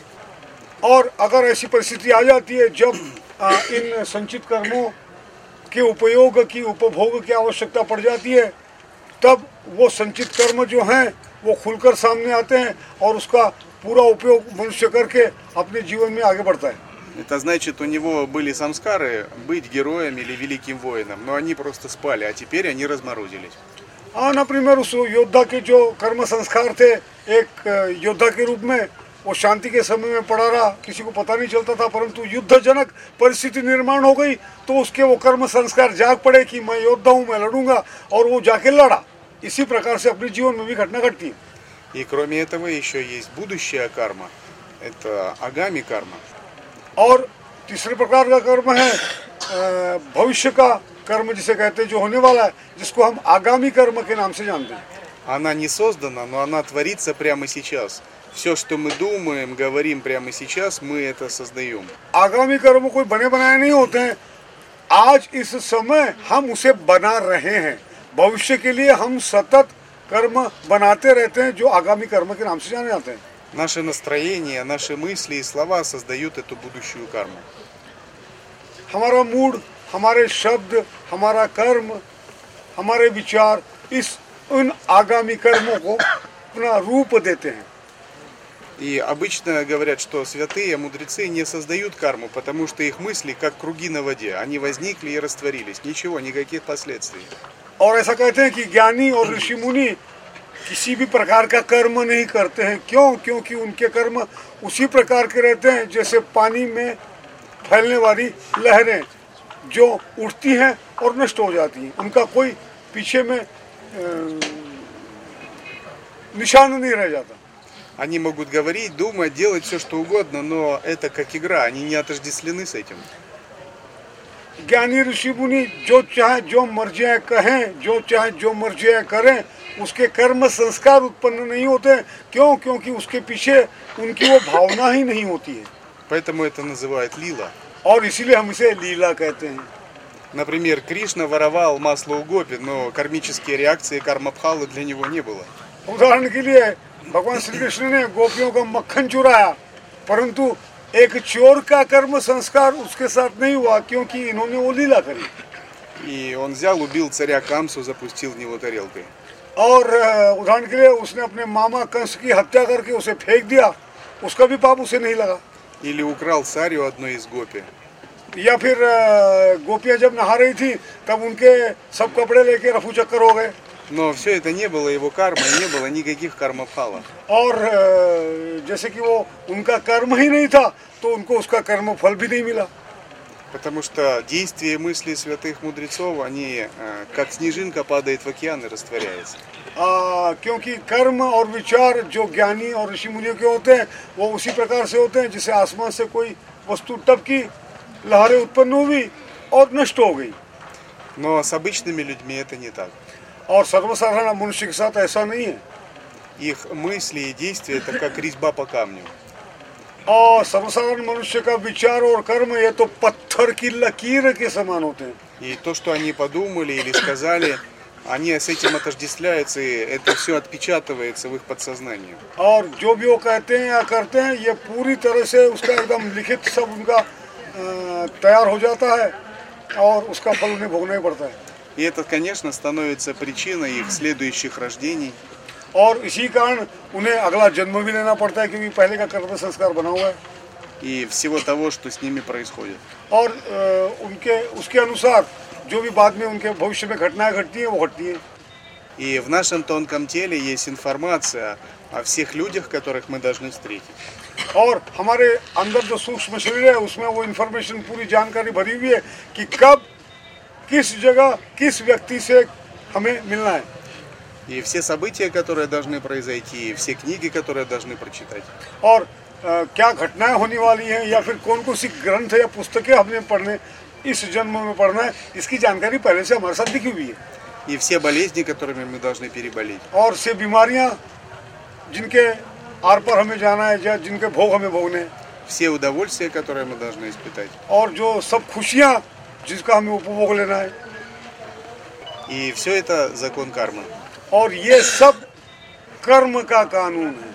Speaker 3: और अगर ऐसी परिस्थिति आ जाती है जब आ, इन संचित कर्मों के उपयोग की उपभोग की आवश्यकता पड़ जाती है, तब वो संचित कर्म जो हैं वो खुलकर सामने आते हैं और उसका पूरा उपयोग मनुष्य करके अपने जीवन में आगे बढ़ता है.
Speaker 2: Это значит, у него были самскары быть героем или великим воином, но они просто спали, а теперь они разморозились.
Speaker 3: हाँ, например उस योद्धा के जो कर्म संस्कार थे, एक योद्धा के रूप में वो शांति के समय में पड़ा रहा, किसी को पता नहीं चलता था, परंतु युद्धजनक परिस्थिति निर्माण हो गई तो उसके वो कर्म संस्कार जाग पड़े कि मैं योद्धा हूँ, मैं लड़ूंगा, और वो जाके लड़ा. इसी प्रकार से अपने जीवन में भी घटना घटती है.
Speaker 2: И кроме этого еще есть будущая карма, это агами карма.
Speaker 3: और तीसरे प्रकार का कर्म है भविष्य का कर्म जिसे कहते हैं, जो होने वाला है, जिसको हम आगामी कर्म के नाम से जानते हैं.
Speaker 2: Она не создана, но она творится прямо сейчас. Все, что мы думаем, говорим прямо сейчас, мы это создаем.
Speaker 3: आगामी कर्म कोई बने बनाए नहीं होते हैं, आज इस समय हम उसे बना रहे हैं। भविष्य के लिए हम सतत कर्म बनाते रहते हैं जो आगामी कर्म के नाम से जाने जाते हैं।
Speaker 2: Наше настроение, наши мысли и слова создают эту будущую карму.
Speaker 3: हमारा मूड, हमारे शब्द, हमारा कर्म, हमारे विचार इस उन आगामी कर्मों को अपना रूप देते हैं।
Speaker 2: И обычно говорят, что святые мудрецы не создают карму, потому что их мысли как круги на воде. Они возникли и растворились. Ничего, никаких последствий.
Speaker 3: और ऐसा कहते हैं कि ज्ञानी और ऋषि मुनि किसी भी प्रकार का कर्म नहीं करते हैं। क्यों? क्योंकि उनके कर्म उसी प्रकार के रहते हैं जैसे पानी में फैलने वाली लहरें जो उठती हैं और नष्ट हो जाती हैं। उनका कोई पीछे में निशान नहीं रह जाता।
Speaker 2: Они могут говорить, думать, делать все, что угодно, но это как игра, они не отождествлены с этим.
Speaker 3: ज्ञानी ऋषि मुनि जो चाहे जो मर्जियाँ कहें, जो चाहे जो मर्जियाँ करें, उसके कर्म संस्कार उत्पन्न नहीं होते। क्यों? क्योंकि उसके पीछे उनकी वो भावना ही नहीं होती है।
Speaker 2: Поэтому это называют лила.
Speaker 3: और इसीलिए हम इसे लीला कहते हैं।
Speaker 2: Например, Кришна воровал масло у гопи, но кармические реакции кармабхалы для него не было.
Speaker 3: उदाहरण के लिए भगवान श्री कृष्ण ने गोपियों का मक्खन चुराया, परंतु एक चोर का कर्म संस्कार उसके साथ नहीं हुआ क्योंकि इन्होंने वो लीला करी।
Speaker 2: И он взял, убил царя Камсу, запустил в него тарелкой.
Speaker 3: और उदाहरण के लिए उसने अपने मामा कंस की हत्या करके उसे फेंक दिया, उसका भी पाप उसे नहीं लगा।
Speaker 2: Или украл сарью одной из гопи.
Speaker 3: या फिर गोपियां जब नहा रही थी तब उनके सब कपड़े लेके रफू चक्कर हो गए।
Speaker 2: Но все это не было его кармой, не было никаких кармабхала.
Speaker 3: और जैसे कि वो उनका कर्म ही नहीं था तो उनको उसका कर्म फल भी नहीं मिला।
Speaker 2: Потому что действия и мысли святых мудрецов, они как снежинка падает в океан и растворяется.
Speaker 3: आ, क्योंकि कर्म और विचार जो ज्ञानी और ऋषि मुनियों के होते हैं वो उसी प्रकार से होते हैं जैसे आसमान से कोई वस्तु टपकी, लहरें उत्पन्न हुई और नष्ट हो गई।
Speaker 2: Но с обычными людьми это не так.
Speaker 3: और सर्वसाधारण मनुष्य के साथ ऐसा नहीं है।
Speaker 2: Их мысли и действия это как резьба по камню.
Speaker 3: और सर्वसाधारण मनुष्य का विचार और कर्म ये तो पत्थर की लकीर के समान होते हैं।
Speaker 2: И то, что они подумали или сказали, они с этим отождествляются, и это все отпечатывается в их подсознании.
Speaker 3: और जो भी वो कहते हैं या करते हैं ये पूरी तरह से उसका एकदम लिखित सब उनका तैयार हो जाता है और उसका फल उन्हें भोगना ही पड़ता है।
Speaker 2: И это, конечно, становится причиной их следующих рождений.
Speaker 3: और इसी कारण उन्हें अगला जन्म भी लेना पड़ता है क्योंकि पहले का कर्म संस्कार बना हुआ है।
Speaker 2: И всего того, что с ними происходит.
Speaker 3: और उनके उसके अनुसार जो भी बाद में उनके भविष्य में घटनाएं घटती हैं वो घटती हैं।
Speaker 2: И в нашем тонком теле есть информация о всех людях, которых мы должны встретить.
Speaker 3: और हमारे अंदर जो सूक्ष्म शरीर है उसमें वो इन्फॉर्मेशन पूरी जानकारी भरी हुई है कि कब किस जगह किस व्यक्ति से हमें मिलना है।
Speaker 2: И все события, которые должны произойти, и все книги, которые должны прочитать.
Speaker 3: और आ, क्या घटनाएं होने वाली हैं या फिर कौन कौन सी ग्रंथ या पुस्तकें हमने पढ़ने इस जन्म में पढ़ना है, इसकी जानकारी पहले से हमारे साथ लिखी हुई है।
Speaker 2: И все болезни, которыми мы должны переболеть.
Speaker 3: और से बीमारियां जिनके आर पर हमें जाना है या जिनके भोग हमें भोगने हैं।
Speaker 2: Все удовольствия, которые мы должны испытать.
Speaker 3: और जो सब खुशियां जिसका हमें उपभोग लेना है।
Speaker 2: И все это закон кармы.
Speaker 3: और ये सब कर्म का कानून है।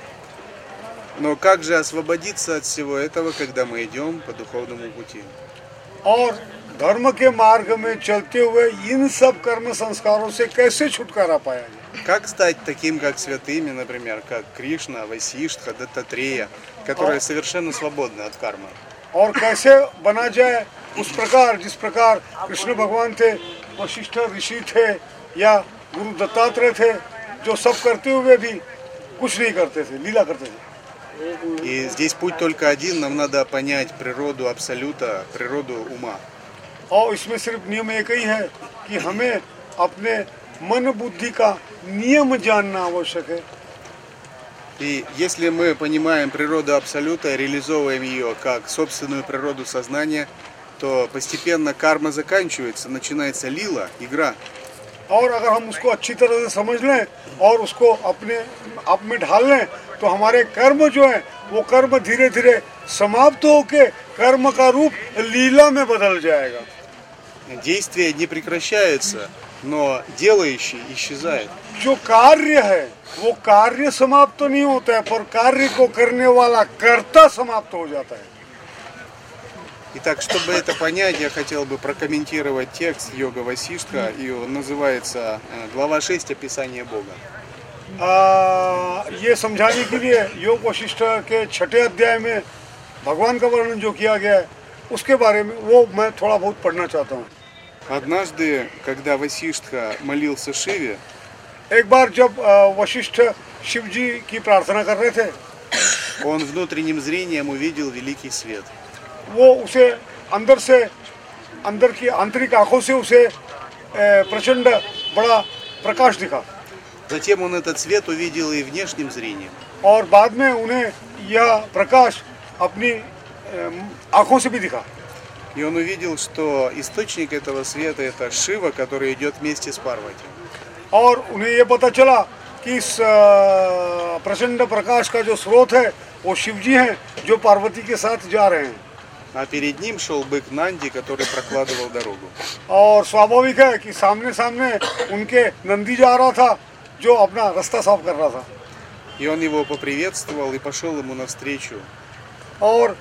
Speaker 2: Но как же освободиться от всего этого, когда мы идем по духовному пути?
Speaker 3: और धर्म के मार्ग में चलते हुए इन सब कर्म संस्कारों से कैसे छुटकारा पाया जाए?
Speaker 2: Как стать таким, как святыми, например, как Кришна, Васиштха, Даттатрея, которые совершенно свободны от кармы?
Speaker 3: और कैसे बना जाए उस प्रकार जिस प्रकार कृष्ण भगवान थे, वशिष्ठ ऋषि थे या गुरु दत्तात्रेय थे, जो सब करते हुए भी कुछ नहीं करते थे, लीला करते थे।
Speaker 2: И здесь путь только один, нам надо понять природу абсолюта, природу ума.
Speaker 3: और इसमें सिर्फ नियम एक ही है कि हमें अपने मन बुद्धि का नियम जानना आवश्यक है।
Speaker 2: И если мы понимаем природу абсолюта, реализовываем ее как собственную природу сознания, то постепенно карма заканчивается, начинается лила, игра.
Speaker 3: और अगर हम उसको अच्छी तरह से समझ लें और उसको अपने आप में ढाल लें तो हमारे कर्म जो है वो कर्म धीरे धीरे समाप्त होके कर्म का रूप लीला में बदल जाएगा.
Speaker 2: Действие не прекращается, но делающий исчезает.
Speaker 3: जो कार्य है वो कार्य समाप्त तो नहीं होता है, पर कार्य को करने वाला कर्ता समाप्त हो जाता है.
Speaker 2: Итак, чтобы это понять, я хотел бы прокомментировать текст Йога Васиштха, и он называется глава шесть «Описание Бога».
Speaker 3: आ, ये समझाने के लिए योग वशिष्ठ के छठे अध्याय में भगवान का वर्णन जो किया गया है उसके बारे में वो मैं थोड़ा बहुत पढ़ना चाहता हूँ.
Speaker 2: Однажды, когда Васиштха молился Шиве,
Speaker 3: एक बार जब वशिष्ठ शिव जी की प्रार्थना कर रहे थे,
Speaker 2: он внутренним зрением увидел великий свет.
Speaker 3: वो उसे अंदर से अंदर की आंतरिक आंखों से उसे प्रचंड बड़ा प्रकाश दिखा.
Speaker 2: Затем он этот свет увидел и внешним зрением.
Speaker 3: और बाद में उन्हें यह प्रकाश अपनी आंखों से भी दिखा.
Speaker 2: И он увидел, что источник этого света это Шива, который идет вместе с Парвати.
Speaker 3: और उन्हें ये पता चला कि इस प्रचंड प्रकाश का जो स्रोत है वो शिव जी हैं जो पार्वती के साथ जा रहे हैं.
Speaker 2: А перед ним шел бык Нанди, который прокладывал дорогу.
Speaker 3: और स्वाभाविक है कि सामने सामने उनके नंदी जा रहा था जो अपना रास्ता साफ कर रहा था.
Speaker 2: И он его поприветствовал и пошел ему навстречу.
Speaker 3: और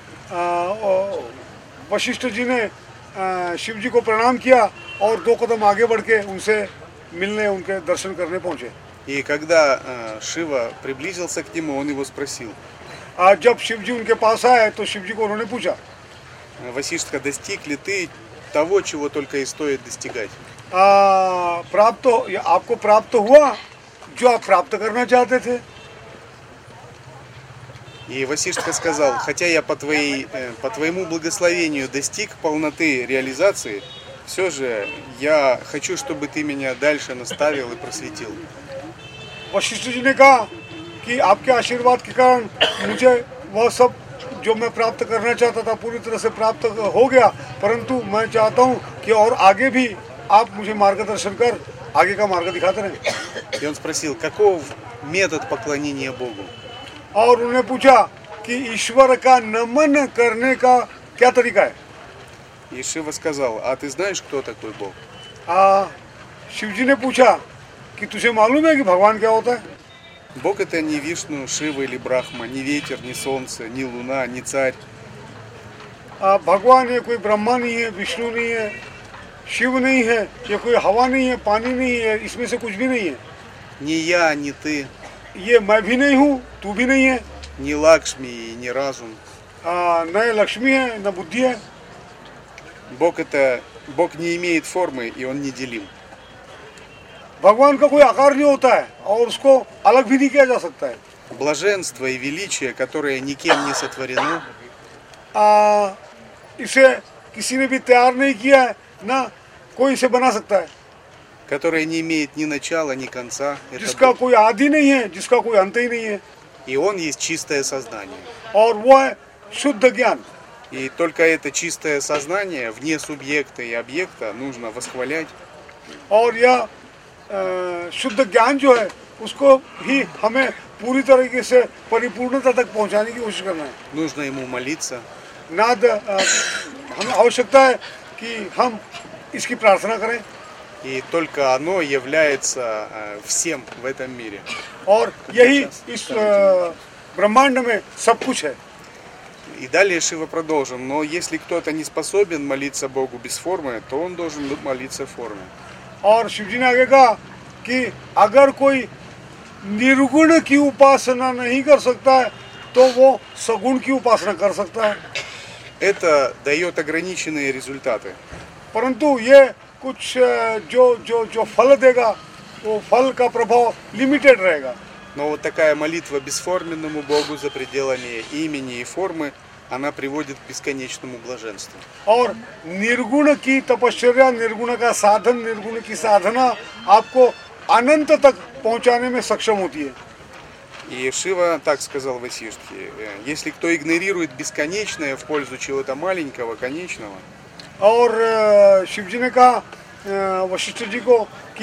Speaker 3: वशिष्ठ जी ने शिव जी को प्रणाम किया और दो कदम आगे बढ़ के उनसे मिलने उनके दर्शन करने पहुंचे.
Speaker 2: И когда Шива приблизился к нему, он его спросил.
Speaker 3: आज जब शिव जी उनके पास आए तो शिव जी को उन्होंने पूछा,
Speaker 2: Васиштха, достиг ли ты того, чего только и стоит достигать?
Speaker 3: आ, प्राप्त आपको प्राप्त हुआ जो आप प्राप्त करना चाहते थे.
Speaker 2: И Васиштха сказал, хотя я по, твоей, по твоему благословению достиг полноты реализации, все же я хочу, чтобы ты меня дальше наставил и просветил.
Speaker 3: वशिष्ठ जी ने कहा कि आपके आशीर्वाद के कारण मुझे वह सब जो मैं प्राप्त करना चाहता था पूरी तरह से प्राप्त हो गया, परंतु मैं चाहता हूँ कि और आगे भी आप मुझे मार्गदर्शन कर आगे का मार्ग दिखाते रहें.
Speaker 2: И он спросил, каков метод поклонения Богу?
Speaker 3: और उन्होंने पूछा कि ईश्वर का नमन करने का क्या तरीका है.
Speaker 2: И Шива сказал, а ты знаешь, кто такой Бог?
Speaker 3: आ, शिव जी ने पूछा कि तुझे मालूम है कि भगवान क्या होता है.
Speaker 2: Бог это не Вишну, Шива или Брахма, не ветер, не солнце, не луна, не царь.
Speaker 3: आ, भगवान ये कोई ब्रह्मा नहीं है, विष्णु नहीं है, शिव नहीं है, ये कोई हवा नहीं है, पानी नहीं है, इसमें से कुछ भी नहीं है.
Speaker 2: Не я, не ты,
Speaker 3: ये मैं भी नहीं हूँ, तू भी नहीं है.
Speaker 2: не Лакшми и не разум.
Speaker 3: आ, न लक्ष्मी है न बुद्धि है.
Speaker 2: Бог это, Бог не имеет формы и он неделим.
Speaker 3: भगवान का कोई आकार नहीं होता है और उसको अलग भी नहीं किया जा सकता है.
Speaker 2: Блаженство и величие, которое никем не сотворено,
Speaker 3: आ, इसे किसी ने भी तैयार नहीं किया है, ना कोई इसे बना सकता है.
Speaker 2: которое не имеет ни начала, ни конца. Это
Speaker 3: जिसका
Speaker 2: Бог.
Speaker 3: कोई आदि नहीं है, जिसका कोई अंत ही नहीं है.
Speaker 2: И он есть чистое сознание.
Speaker 3: और वो है शुद्ध ज्ञान.
Speaker 2: И только это чистое сознание, вне субъекта и объекта, нужно восхвалять.
Speaker 3: और यह अ, शुद्ध ज्ञान जो है उसको ही हमें पूरी तरीके से परिपूर्णता तक पहुंचाने की कोशिश करना है.
Speaker 2: Нужно ему молиться.
Speaker 3: नाद अ, हमें आवश्यकता है कि हम इसकी प्रार्थना करें.
Speaker 2: И только оно является всем в этом мире.
Speaker 3: और यही इस अ, ब्रह्मांड में सब कुछ है.
Speaker 2: И далее Шива продолжил. Но если кто-то не способен молиться Богу без формы, то он должен молиться в форме.
Speaker 3: और शिव जी ने आगे कहा कि अगर कोई निर्गुण की उपासना नहीं कर सकता है तो वो सगुण की उपासना कर सकता है.
Speaker 2: Это дает ограниченные результаты.
Speaker 3: परंतु ये कुछ अ, जो जो जो फल देगा वो फल का प्रभाव लिमिटेड रहेगा.
Speaker 2: Но вот такая молитва бесформенному Богу за пределами имени и формы, она приводит к бесконечному блаженству.
Speaker 3: और निर्गुण की तपश्चर्या, निर्गुण का साधन, निर्गुण की साधना आपको अनंत तक पहुंचाने में सक्षम होती है.
Speaker 2: И Шива так сказал Васиштхе, если кто игнорирует бесконечное в пользу чего-то маленького, конечного,
Speaker 3: और अ, शिव जी ने कहा अ, वशिष्ठ जी को कि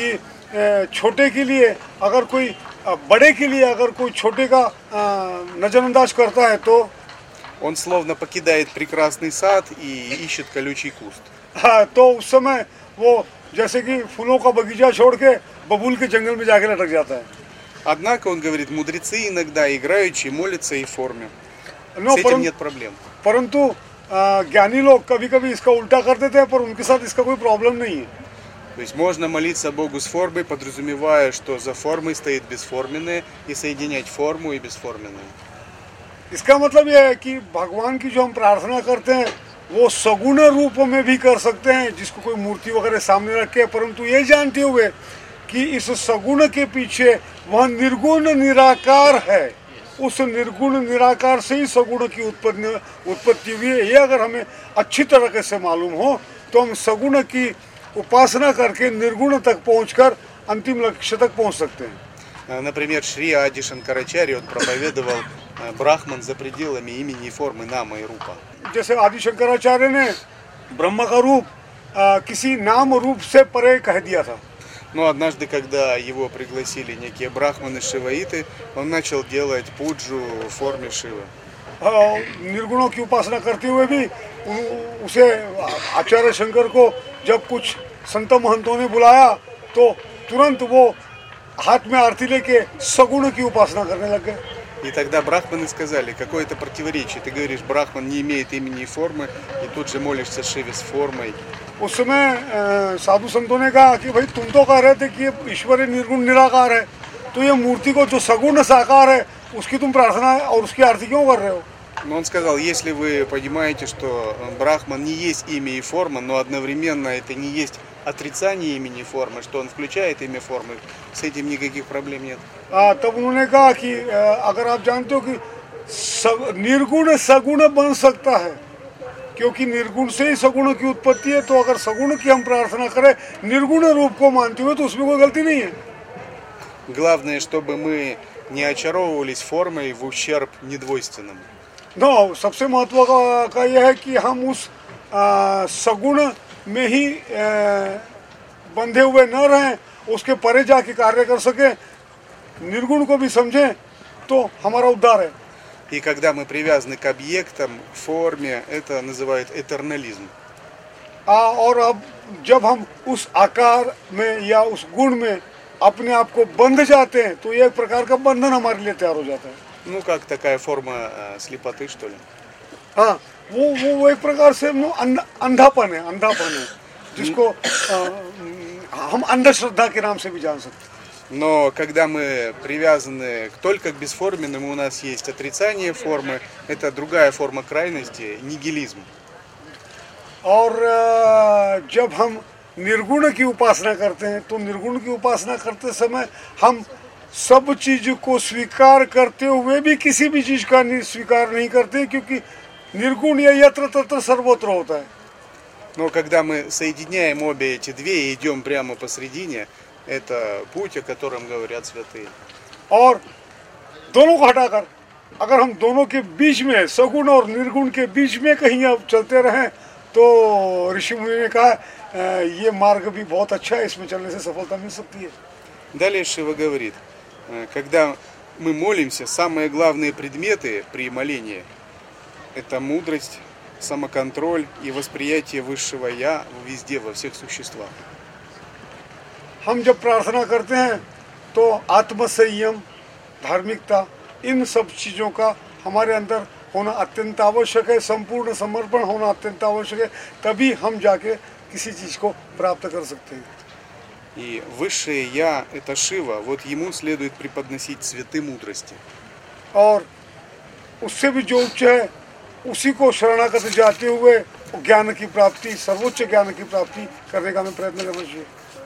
Speaker 3: छोटे के लिए अगर कोई बड़े के लिए अगर कोई छोटे का नजरअंदाज करता है तो
Speaker 2: он словно покидает прекрасный сад и ищет колючий куст.
Speaker 3: हाँ, तो उस समय वो जैसे कि फूलों का बगीचा छोड़ के बबूल के जंगल में जाके लटक जाता है.
Speaker 2: Однако, он говорит, мудрецы иногда играющие молятся и в форме.
Speaker 3: Но
Speaker 2: С этим нет проблем.
Speaker 3: परंतु ज्ञानी लोग कभी कभी इसका उल्टा कर देते हैं, पर उनके साथ इसका कोई प्रॉब्लम नहीं है.
Speaker 2: То есть можно молиться Богу с формой, подразумевая, что за формой стоит бесформенное, и соединять форму и бесформенное.
Speaker 3: इसका मतलब यह है कि भगवान की जो हम प्रार्थना करते हैं वो सगुण रूप में भी कर सकते हैं, जिसको कोई मूर्ति वगैरह सामने रखे, परंतु ये जानते हुए कि इस सगुण के पीछे वह निर्गुण निराकार है. उस निर्गुण निराकार से ही सगुण की उत्पत्ति उत्पत्ति हुई है. ये अगर हमें अच्छी तरह से मालूम हो तो हम सगुण की उपासना करके निर्गुण तक पहुंचकर अंतिम लक्ष्य तक पहुंच सकते हैं.
Speaker 2: Например, Шри Ади Шанкарачарья, он проповедовал Брахман за пределами имени и формы Нама и Рупа.
Speaker 3: जैसे आदि शंकराचार्य ने ब्रह्म का रूप आ, किसी नाम रूप से परे कह दिया था.
Speaker 2: Но однажды, когда его пригласили некие брахманы шиваиты, он начал делать пуджу в форме Шивы.
Speaker 3: निर्गुणों की उपासना करते हुए भी उसे आचार्य शंकर को जब कुछ संत महंतों ने बुलाया तो तुरंत वो हाथ में आरती लेके सगुण की उपासना करने लग गए.
Speaker 2: И тогда брахманы сказали, какое-то противоречие. Ты говоришь, брахман не имеет имени и формы, и тут же молишься Шиве с формой.
Speaker 3: उस समय साधु संतों ने कहा कि भाई तुम तो कह रहे थे कि ये ईश्वर निर्गुण निराकार है, तो ये मूर्ति को जो सगुण साकार है उसकी तुम प्रार्थना और उसकी आरती क्यों कर रहे हो?
Speaker 2: Но он сказал, если вы понимаете, что брахман не есть имя и форма, но одновременно это не есть отрицание имени и формы, что он включает имя формы, с этим никаких проблем нет.
Speaker 3: आ, तब उन्होंने कहा कि अगर आप जानते हो कि निर्गुण सगुण बन सकता है, क्योंकि निर्गुण से ही सगुण की उत्पत्ति है, तो अगर सगुण की हम प्रार्थना करें निर्गुण रूप को मानते हुए तो उसमें कोई गलती नहीं है.
Speaker 2: Главное, чтобы мы не очаровывались формой в ущерб недвойственному.
Speaker 3: Но सबसे महत्व का, का यह है कि हम उस आ, सगुण में ही आ, बंधे हुए न रहें, उसके परे जाके कार्य कर सके, निर्गुण को भी समझें, तो हमारा उद्धार है.
Speaker 2: И когда мы привязаны к объектам, форме, это называют этернализм.
Speaker 3: आ, और अब जब हम उस आकार में या उस गुण में अपने आप को बंध जाते हैं तो ये एक प्रकार का बंधन हमारे लिए तैयार हो जाता है.
Speaker 2: Ну, как такая форма э, слепоты, что ли?
Speaker 3: हाँ, वो वो वो एक प्रकार से वो अंधापन है, अंधापन है, जिसको आ, हम अंधश्रद्धा के नाम से भी जान सकते हैं.
Speaker 2: Но когда мы привязаны только к бесформенному, у нас есть отрицание формы, это другая форма крайности, нигилизм.
Speaker 3: और जब हम निर्गुण की उपासना करते हैं तो निर्गुण की उपासना करते समय हम सब चीज को स्वीकार करते हुए भी किसी भी चीज का स्वीकार नहीं करते, क्योंकि निर्गुण या यत्र तत्र सर्वत्र होता है.
Speaker 2: Но когда мы соединяем обе эти две и идем прямо посредине, это путь, о котором говорят святые.
Speaker 3: और दोनों को हटाकर अगर हम दोनों के बीच में, सगुण और निर्गुण के बीच में कहीं अब चलते रहें, तो ऋषि मुनि ने कहा ये मार्ग भी बहुत अच्छा है, इसमें चलने से सफलता मिल सकती है.
Speaker 2: Далее Шива говорит, когда мы молимся, самые главные предметы при молении – это мудрость, самоконтроль и восприятие высшего Я везде, во всех существах.
Speaker 3: हम जब प्रार्थना करते हैं तो आत्मसंयम, धार्मिकता, इन सब चीज़ों का हमारे अंदर होना अत्यंत आवश्यक है, संपूर्ण समर्पण होना अत्यंत आवश्यक है, तभी हम जाके किसी चीज़ को प्राप्त कर सकते हैं.
Speaker 2: И высшее Я – это Шива, вот ему следует преподносить цветы мудрости.
Speaker 3: और उससे भी जो उच्च है उसी को शरणागत जाते हुए ज्ञान की प्राप्ति, सर्वोच्च ज्ञान की प्राप्ति करने का हमें प्रयत्न करना चाहिए.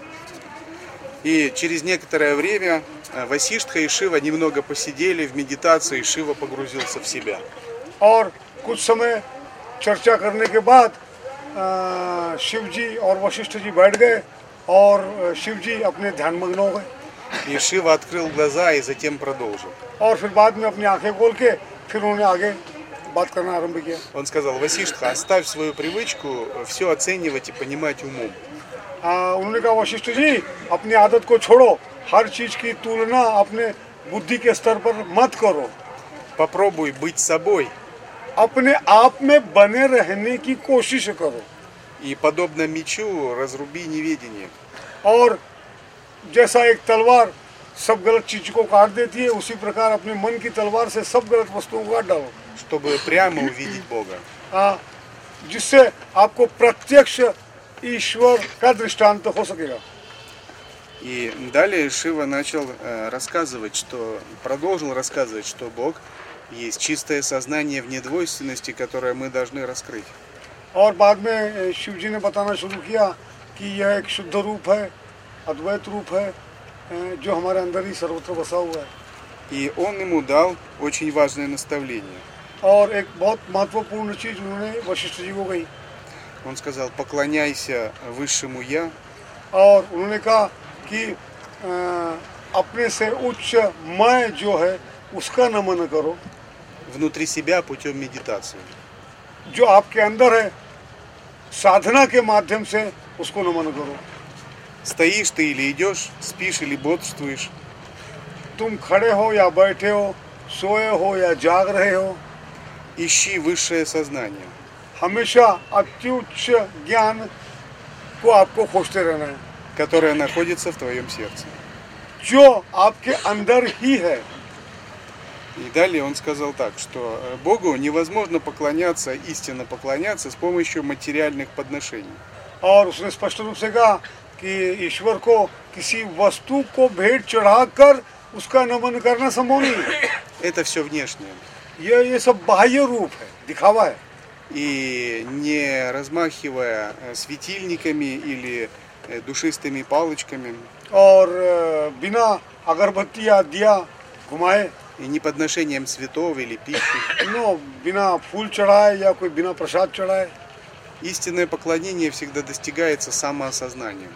Speaker 2: И через некоторое время Васиштха и Шива немного посидели в медитации, и Шива погрузился в себя.
Speaker 3: और कुछ समय चर्चा करने के बाद शिव जी और वशिष्ठ जी बैठ गए और शिव जी अपने ध्यान मग्न हो गए.
Speaker 2: И Шива открыл глаза и затем продолжил.
Speaker 3: और फिर बाद में अपनी आंखें खोल के फिर उन्होंने आगे बात करना आरंभ किया.
Speaker 2: Он сказал: Васиштха, оставь свою привычку все оценивать и понимать умом.
Speaker 3: आ, उन्होंने कहा वशिष्ठ जी अपनी आदत को छोड़ो, हर चीज की तुलना अपने बुद्धि के स्तर पर मत करो,
Speaker 2: Попробуй быть собой.
Speaker 3: अपने आप में बने रहने की कोशिश करो।
Speaker 2: И подобно мечу разруби неведение.
Speaker 3: और जैसा एक तलवार सब गलत चीज को काट देती है, उसी प्रकार अपने मन की तलवार से सब गलत वस्तुओं को काट डालो,
Speaker 2: Чтобы прямо увидеть Бога.
Speaker 3: हाँ, जिससे आपको प्रत्यक्ष ईश्वर का दृष्टांत हो सकेगा।
Speaker 2: И далее Шива начал э, рассказывать, что продолжил рассказывать, что Бог есть чистое сознание в недвойственности, которое мы должны раскрыть.
Speaker 3: और बाद में शिव जी ने बताना शुरू किया कि यह एक शुद्ध रूप है, अद्वैत रूप है, जो हमारे अंदर ही सर्वत्र बसा हुआ है।
Speaker 2: И он ему дал очень важное наставление.
Speaker 3: और एक बहुत महत्वपूर्ण चीज उन्होंने वशिष्ठ जी को कही।
Speaker 2: Он сказал: поклоняйся высшему Я,
Speaker 3: और उन्होंने कहा कि अ, अपने से उच्च मैं जो है उसका नमन करो,
Speaker 2: внутри себя путем медитации.
Speaker 3: जो आपके अंदर है साधना के माध्यम से उसको नमन करो।
Speaker 2: Стоишь ты или идешь, спишь или бодрствуешь,
Speaker 3: तुम खड़े हो या बैठे हो, सोए हो या जाग रहे हो,
Speaker 2: ищи высшее сознание,
Speaker 3: हमेशा अत्युच्च ज्ञान को आपको खोजते रहना है,
Speaker 2: которое находится в твоем сердце.
Speaker 3: जो आपके अंदर ही है।
Speaker 2: И далее он сказал так, что э, Богу невозможно поклоняться, истинно поклоняться с помощью материальных подношений.
Speaker 3: और उसने स्पष्ट रूप से कहा कि ईश्वर को किसी वस्तु को भेंट चढ़ाकर उसका नमन करना संभव नहीं है।
Speaker 2: Это все внешнее.
Speaker 3: ये ये सब बाह्य रूप है, दिखावा है।
Speaker 2: И не размахивая э, светильниками или э, душистыми палочками,
Speaker 3: और अ, बिना अगरबत्ती या दिया घुमाए,
Speaker 2: и не подношением цветов или пищи.
Speaker 3: नो बिना फूल चढ़ाए या कोई बिना प्रसाद चढ़ाए।
Speaker 2: Истинное поклонение всегда достигается самоосознанием.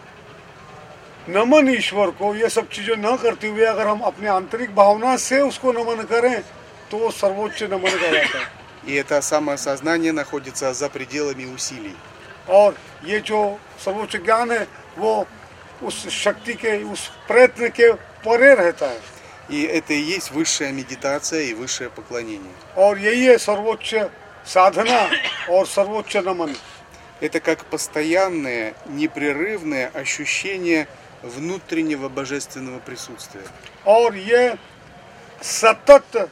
Speaker 3: नमन ईश्वर को ये सब चीजें न करते हुए अगर हम अपने आंतरिक भावना से उसको नमन करें तो वो सर्वोच्च नमन कहलाता है।
Speaker 2: И это самоосознание находится за пределами усилий.
Speaker 3: और ये जो सर्वोच्च ज्ञान है वो उस शक्ति के, उस प्रयत्न के परे रहता है।
Speaker 2: И это и есть высшая медитация и высшее поклонение.
Speaker 3: और यही है सर्वोच्च साधना और सर्वोच्च नमन।
Speaker 2: Это как постоянное, непрерывное ощущение внутреннего божественного присутствия.
Speaker 3: और ये सतत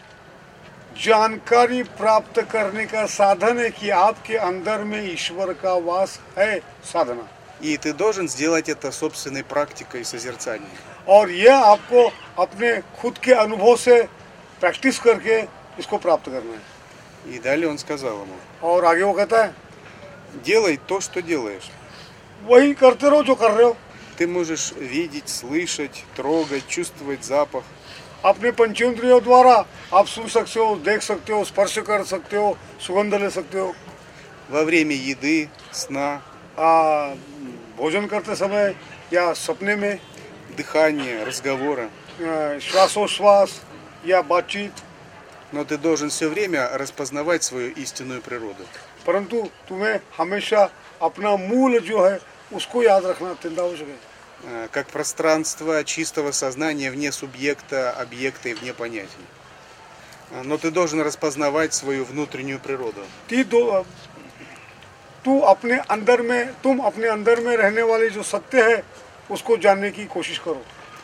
Speaker 3: जानकारी प्राप्त करने का साधन है कि आपके अंदर में ईश्वर का वास है, साधना।
Speaker 2: И ты должен сделать это собственной практикой созерцания.
Speaker 3: और यह आपको अपने खुद के अनुभव से प्रैक्टिस करके इसको प्राप्त करना है।
Speaker 2: И далее он сказал ему:
Speaker 3: और आगे वो कहता है
Speaker 2: делай то, что делаешь.
Speaker 3: वही करते रहो जो कर रहे हो।
Speaker 2: Ты можешь видеть, слышать, трогать, чувствовать запах.
Speaker 3: अपने पंचेंद्रियों द्वारा आप सुन सकते हो, देख सकते हो, स्पर्श कर सकते हो, सुगंध ले सकते हो।
Speaker 2: Во время еды, сна,
Speaker 3: आ, भोजन करते समय या सपने में,
Speaker 2: дыхания, разговора.
Speaker 3: आ, श्वासोश्वास या बातचीत।
Speaker 2: Но ты должен все время распознавать свою истинную природу.
Speaker 3: परंतु तुम्हें हमेशा अपना मूल जो है उसको याद रखना अत्यंत आवश्यक है।
Speaker 2: Э, Как пространство чистого сознания вне субъекта, объекта и вне понятий. Э, Но ты должен распознавать свою внутреннюю природу.
Speaker 3: ती दो तू अपने अंदर में तुम अपने अंदर में रहने वाले जो सत्य है उसको जानने की कोशिश करो।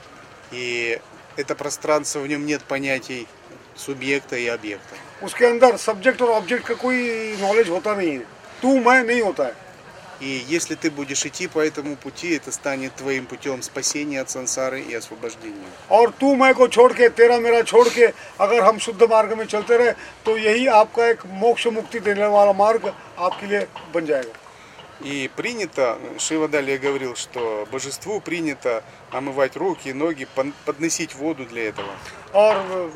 Speaker 2: И это пространство, в нем нет понятий субъекта и объекта.
Speaker 3: उसके अंदर सब्जेक्ट और ऑब्जेक्ट का कोई नॉलेज होता नहीं है, तू मैं नहीं होता है।
Speaker 2: И если ты будешь идти по этому пути, это станет твоим путем спасения от сансары и освобождения.
Speaker 3: और तू मैं को छोड़ के, तेरा मेरा छोड़ के अगर हम शुद्ध मार्ग में चलते रहे तो यही आपका एक मोक्ष मुक्ति देने वाला मार्ग आपके लिए बन जाएगा।
Speaker 2: И принято, Шива далее говорил, что божеству принято омывать руки, ноги, пон- подносить воду для этого.
Speaker 3: और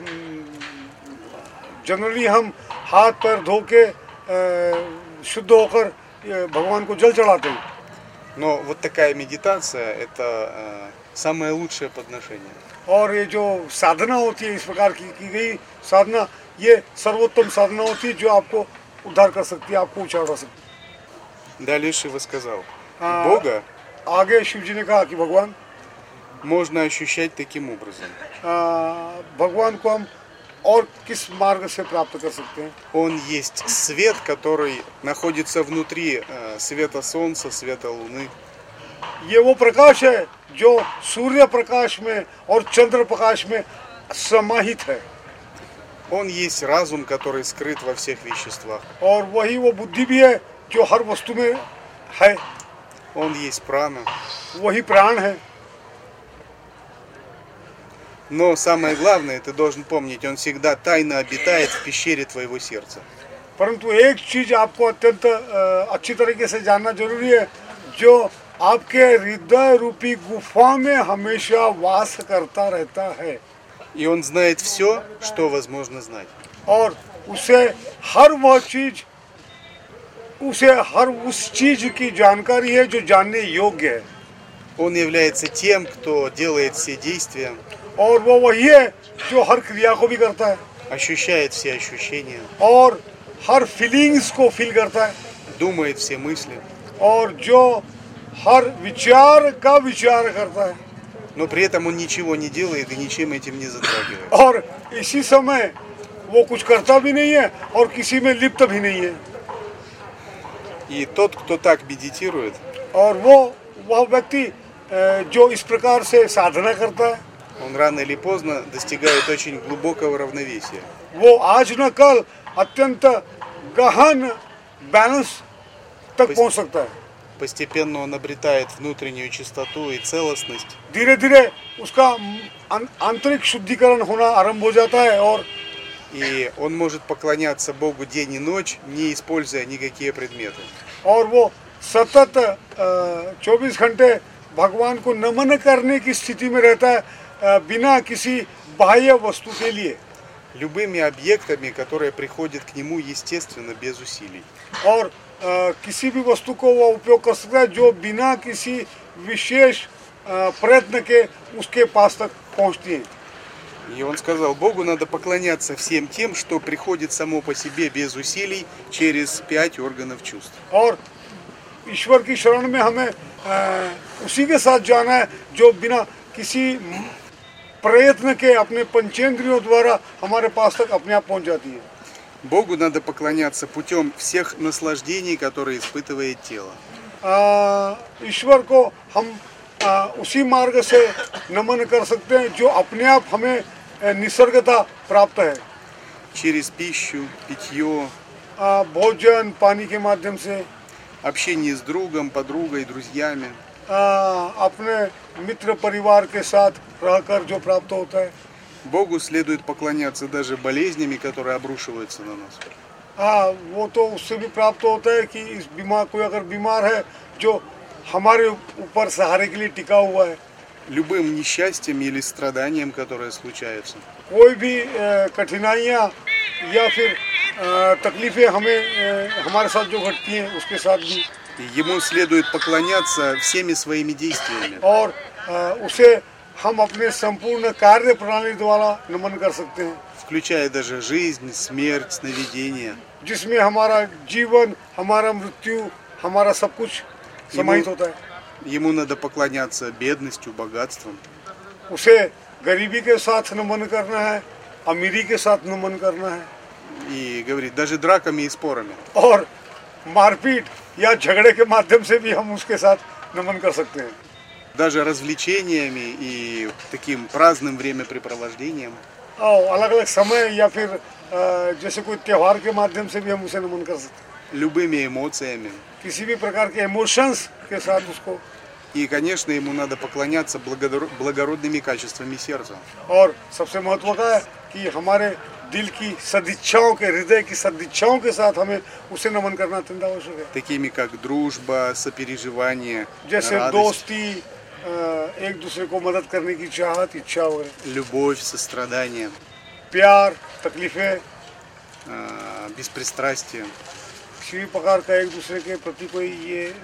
Speaker 3: जनरली हम हाथ पैर धो के अ, शुद्ध होकर अ, भगवान को जल चढ़ाते हैं।
Speaker 2: Но вот такая медитация – это э, самое лучшее подношение.
Speaker 3: और ये जो साधना होती है इस प्रकार की की गई साधना, ये सर्वोत्तम साधना होती है जो आपको उद्धार कर सकती है, आपको ऊंचा उठा सकती है।
Speaker 2: Далее Шива сказал:
Speaker 3: А.
Speaker 2: Бога
Speaker 3: आगे शिव जी ने कहा कि भगवान
Speaker 2: можно ощущать таким образом.
Speaker 3: आ, भगवान को हम और किस मार्ग से प्राप्त कर सकते हैं?
Speaker 2: Он есть свет, который находится внутри э, света солнца, света луны.
Speaker 3: ये वो प्रकाश है जो सूर्य प्रकाश में और चंद्र प्रकाश में समाहित है
Speaker 2: Он есть разум, который скрыт во всех веществах.
Speaker 3: और वही वो बुद्धि भी है जो हर वस्तु में है,
Speaker 2: Он есть прана.
Speaker 3: वही प्राण है।
Speaker 2: Но самое главное, ты должен помнить, он всегда тайно обитает в пещере твоего сердца.
Speaker 3: परंतु एक चीज आपको अत्यंत अ, अच्छी तरीके से जानना जरूरी है, जो आपके हृदय रूपी गुफा में हमेशा वास करता रहता है
Speaker 2: И он знает все, что возможно знать.
Speaker 3: और उसे हर वह चीज उसे हर उस चीज की जानकारी है जो जानने योग्य है
Speaker 2: Он является тем, кто делает все действия,
Speaker 3: और वो वही है जो हर क्रिया को भी करता है
Speaker 2: ощущает все ощущения,
Speaker 3: और हर फीलिंग्स को फील करता है
Speaker 2: думает все мысли,
Speaker 3: और जो हर विचार का विचार करता है
Speaker 2: но при этом он ничего не делает и ничем этим не затрагивает.
Speaker 3: और इसी समय वो कुछ करता भी नहीं है और किसी में लिप्त भी नहीं है
Speaker 2: И тот, кто так медитирует,
Speaker 3: और वो वह व्यक्ति अ, जो इस प्रकार से साधना करता है
Speaker 2: он рано или поздно достигает очень глубокого равновесия.
Speaker 3: वो आज न कल अत्यंत गहन बैलेंस तक पहुंच सकता है
Speaker 2: Постепенно он обретает внутреннюю чистоту и целостность.
Speaker 3: धीरे धीरे उसका आं- आंतरिक शुद्धिकरण होना आरंभ हो जाता है और
Speaker 2: И он может поклоняться Богу день и ночь, не используя никакие предметы.
Speaker 3: और वो सतत चौबीस घंटे भगवान को नमन करने की स्थिति में रहता है अ, बिना किसी बाह्य वस्तु के लिए
Speaker 2: Любыми объектами, которые приходят к нему естественно, без усилий.
Speaker 3: और अ, किसी भी वस्तु को वो उपयोग कर सकता है जो बिना किसी विशेष अ, प्रयत्न के उसके पास तक पहुंचती है
Speaker 2: И он сказал, Богу надо поклоняться всем тем, что приходит само по себе без усилий через пять органов чувств.
Speaker 3: और ईश्वर की शरण में हमें अ, उसी के साथ जाना है जो बिना किसी प्रयत्न के अपने पंचेंद्रियों द्वारा हमारे पास तक अपने आप पहुंच जाती है
Speaker 2: Богу надо поклоняться путем всех наслаждений, которые испытывает тело.
Speaker 3: अ, ईश्वर को हम अ, उसी मार्ग से नमन कर सकते हैं जो अपने आप हमें अ, निसर्गता प्राप्त है
Speaker 2: Через пищу, питье,
Speaker 3: अ, भोजन पानी के माध्यम से
Speaker 2: общение с другом, подругой, друзьями.
Speaker 3: अ, अपने मित्र परिवार के साथ रहकर जो प्राप्त होता है
Speaker 2: Богу следует поклоняться даже болезнями, которые обрушиваются на нас.
Speaker 3: हाँ वो तो उससे भी प्राप्त होता है कि इस बीमार कोई अगर बीमार है जो हमारे ऊपर सहारे के लिए टिका हुआ है
Speaker 2: Любым несчастьем или страданием, которые случаются.
Speaker 3: कोई भी अ, कठिनाइयाँ या फिर अ, तकलीफें हमें अ, हमारे साथ जो घटती हैं उसके साथ भी
Speaker 2: И ему следует поклоняться всеми своими действиями.
Speaker 3: और अ, उसे हम अपने संपूर्ण कार्य प्रणाली द्वारा नमन कर सकते हैं
Speaker 2: Включая даже жизнь, смерть, сновидения.
Speaker 3: जिसमें हमारा जीवन हमारा मृत्यु हमारा सब कुछ समाहित होता है
Speaker 2: Ему надо поклоняться бедностью, богатством.
Speaker 3: उसे गरीबी के साथ नमन करना है अमीरी के साथ नमन करना है
Speaker 2: И говорит, даже драками и спорами.
Speaker 3: और मारपीट या झगड़े के माध्यम से भी हम उसके साथ नमन कर सकते हैं
Speaker 2: Даже развлечениями и таким праздным времяпрепровождением.
Speaker 3: और अलग अलग समय या फिर अ, जैसे कोई त्यौहार के माध्यम से भी हम उसे नमन कर सकते हैं
Speaker 2: Любыми эмоциями.
Speaker 3: किसी भी प्रकार के इमोशंस के साथ उसको
Speaker 2: И, конечно, ему надо поклоняться благодор- благородными качествами сердца.
Speaker 3: और सबसे महत्व का है कि हमारे दिल की सदिच्छाओं के हृदय की सदिच्छाओं के साथ हमें उसे नमन करना अत्यंत आवश्यक है
Speaker 2: Такими как дружба, сопереживание,
Speaker 3: जैसे
Speaker 2: радость,
Speaker 3: दोस्ती अ, एक दूसरे को मदद करने की चाहत इच्छा वगैरह
Speaker 2: любовь, सострадание,
Speaker 3: प्यार तकलीफें
Speaker 2: э, беспристрастие.
Speaker 3: किसी भी प्रकार का एक दूसरे के प्रति कोई ये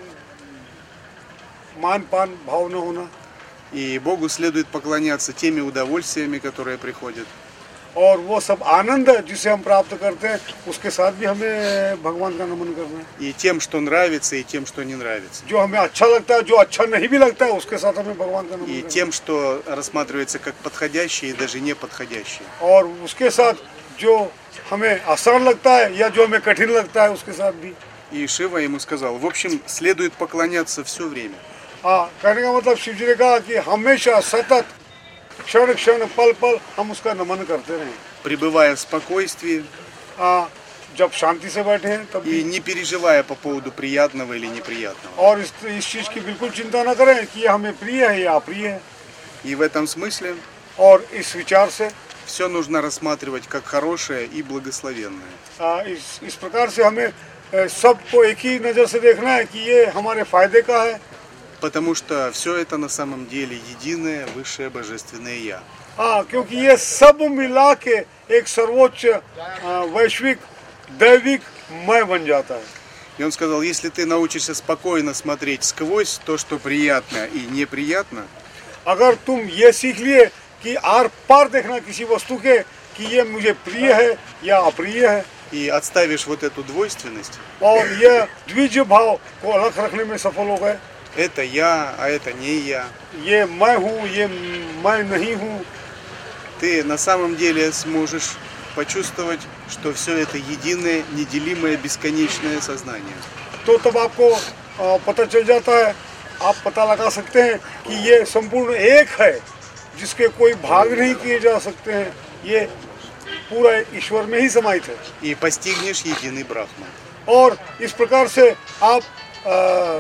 Speaker 3: मान पान भाव न होना
Speaker 2: И Богу следует поклоняться теми удовольствиями, которые приходят.
Speaker 3: और वो सब आनंद जिसे हम प्राप्त करते हैं उसके साथ भी हमें भगवान का नमन करना है।
Speaker 2: И тем, что нравится, и тем, что не нравится.
Speaker 3: जो हमें अच्छा लगता है, जो अच्छा नहीं भी लगता है, उसके साथ हमें भगवान का नमन
Speaker 2: И
Speaker 3: करना है।
Speaker 2: тем, что рассматривается как подходящее и даже неподходящее.
Speaker 3: और उसके साथ जो हमें आसान लगता है या जो हमें कठिन लगता है उसके साथ भी।
Speaker 2: И Шива ему сказал, в общем, следует поклоняться все время.
Speaker 3: हाँ, कहने का मतलब शिव जी ने कहा कि हमेशा सतत क्षण क्षण पल पल हम उसका नमन करते रहें।
Speaker 2: Пребывая в спокойствии
Speaker 3: हाँ, जब शांति से बैठे हैं तब
Speaker 2: и
Speaker 3: भी,
Speaker 2: не переживая по поводу приятного или неприятного.
Speaker 3: और इस इस चीज की बिल्कुल चिंता न करें कि ये हमें प्रिय है या अप्रिय है।
Speaker 2: И в этом смысле
Speaker 3: और इस विचार से
Speaker 2: все нужно рассматривать как хорошее и благословенное.
Speaker 3: आ, इस इस प्रकार से हमें ए, सबको एक ही नज़र से देखना है कि ये हमारे फायदे का है।
Speaker 2: Потому что все это на самом деле единое высшее божественное Я.
Speaker 3: हाँ, क्योंकि ये सब मिला के एक सर्वोच्च आ, वैश्विक दैविक मैं बन जाता है।
Speaker 2: И он сказал, если ты научишься спокойно смотреть сквозь то, что приятно и неприятно,
Speaker 3: अगर तुम ये सीख लिए कि आर पार देखना किसी वस्तु के कि ये मुझे प्रिय है या अप्रिय है,
Speaker 2: и отставишь вот эту двойственность,
Speaker 3: और ये द्विज भाव को अलग रखने में सफल हो गए,
Speaker 2: это я, а это не я,
Speaker 3: ये मैं हूँ ये मैं नहीं हूँ,
Speaker 2: ты на самом деле сможешь почувствовать, что все это единое, неделимое, бесконечное сознание.
Speaker 3: तो तब आपको आ, पता चल जाता है, आप पता लगा सकते हैं कि ये संपूर्ण एक है जिसके कोई भाग नहीं किए जा सकते हैं, ये पूरा ईश्वर में ही समाहित है।
Speaker 2: И постигнешь единый Брахма.
Speaker 3: और इस प्रकार से आप आ,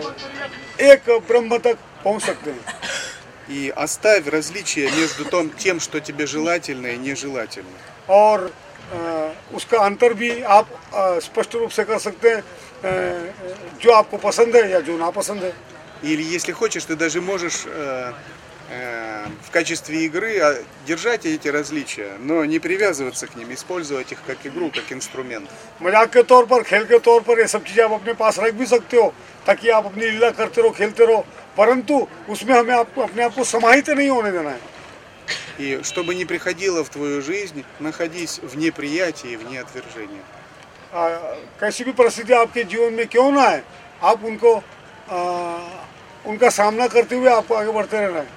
Speaker 3: एक ब्रह्म तक पहुंच सकते हैं।
Speaker 2: И оставь различия между том, тем, что тебе желательно и нежелательно.
Speaker 3: और आ, उसका अंतर भी आप आ, स्पष्ट रूप से कर सकते हैं, आ, जो आपको पसंद है या जो नापसंद है।
Speaker 2: Или если хочешь, ты даже можешь э, э, в качестве игры а, держать эти различия, но не привязываться к ним, использовать их как игру, как инструмент.
Speaker 3: मजाक के तौर पर, खेल के तौर पर ये सब चीज़ें आप अपने पास रख भी सकते हो ताकि आप अपनी लीला करते रहो, खेलते रहो, परंतु उसमें हमें आपको अपने आप को समाहित नहीं होने देना है।
Speaker 2: И что бы ни приходило в твою жизнь, находись в неприятии, вне отвержения.
Speaker 3: आ, कैसी भी परिस्थिति आपके जीवन में क्यों ना है, आप उनको आ, उनका सामना करते हुए आपको आगे बढ़ते रहना है।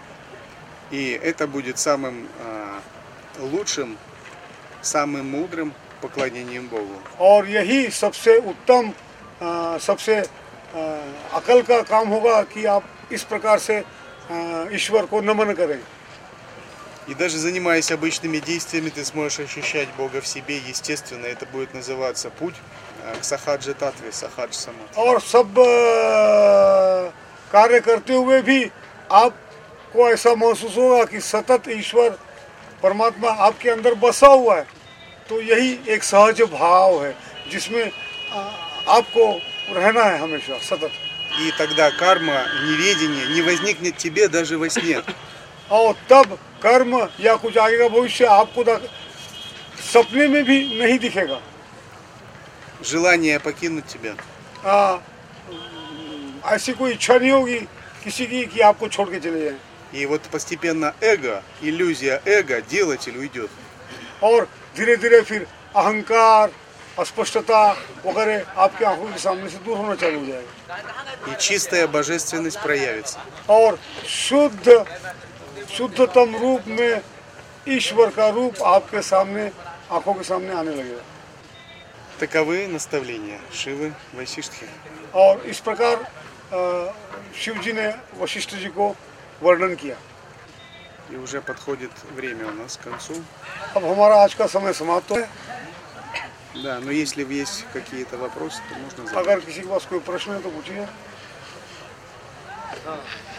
Speaker 2: И это будет самым э, лучшим, самым мудрым поклонением Богу.
Speaker 3: और यही सबसे उत्तम आ, सबसे आ, अकल का काम होगा कि आप इस प्रकार से आ, ईश्वर को नमन करें।
Speaker 2: И даже занимаясь обычными действиями, ты сможешь ощущать Бога в себе, естественно, это будет называться путь э, к сахаджи татве, сахадж самадхи.
Speaker 3: और सब आ, कार्य करते हुए भी आपको ऐसा महसूस होगा कि सतत ईश्वर परमात्मा आपके अंदर बसा हुआ है। तो यही एक सहज भाव है जिसमें आ, आपको रहना है हमेशा सतत।
Speaker 2: И тогда карма, неведение не возникнет тебе даже во сне.
Speaker 3: और तब कर्म या कुछ आगे का भविष्य आपको दा- सपने में भी नहीं दिखेगा।
Speaker 2: Желание покинуть тебя.
Speaker 3: आ, ऐसी कोई इच्छा नहीं होगी किसी की कि आपको छोड़ के चले जाएं।
Speaker 2: И вот постепенно эго, иллюзия эго, делатель уйдет.
Speaker 3: और धीरे धीरे फिर अहंकार अस्पष्टता वगैरह आपकी आंखों के सामने से दूर होना चालू हो जाएगा।
Speaker 2: И чистая божественность проявится.
Speaker 3: और शुद्ध शुद्धतम रूप में ईश्वर का रूप आपके सामने आंखों के सामने आने लगेगा।
Speaker 2: Таковы наставления Шивы Васиштхи.
Speaker 3: और इस प्रकार अ, शिव जी ने वशिष्ठ जी को वर्णन किया।
Speaker 2: И уже подходит время у нас к концу.
Speaker 3: अब हमारा आज का समय समाप्त है।
Speaker 2: Да, но если есть какие-то вопросы, то можно задать.
Speaker 3: अगर किसी के पास कोई प्रश्न है तो पूछिए।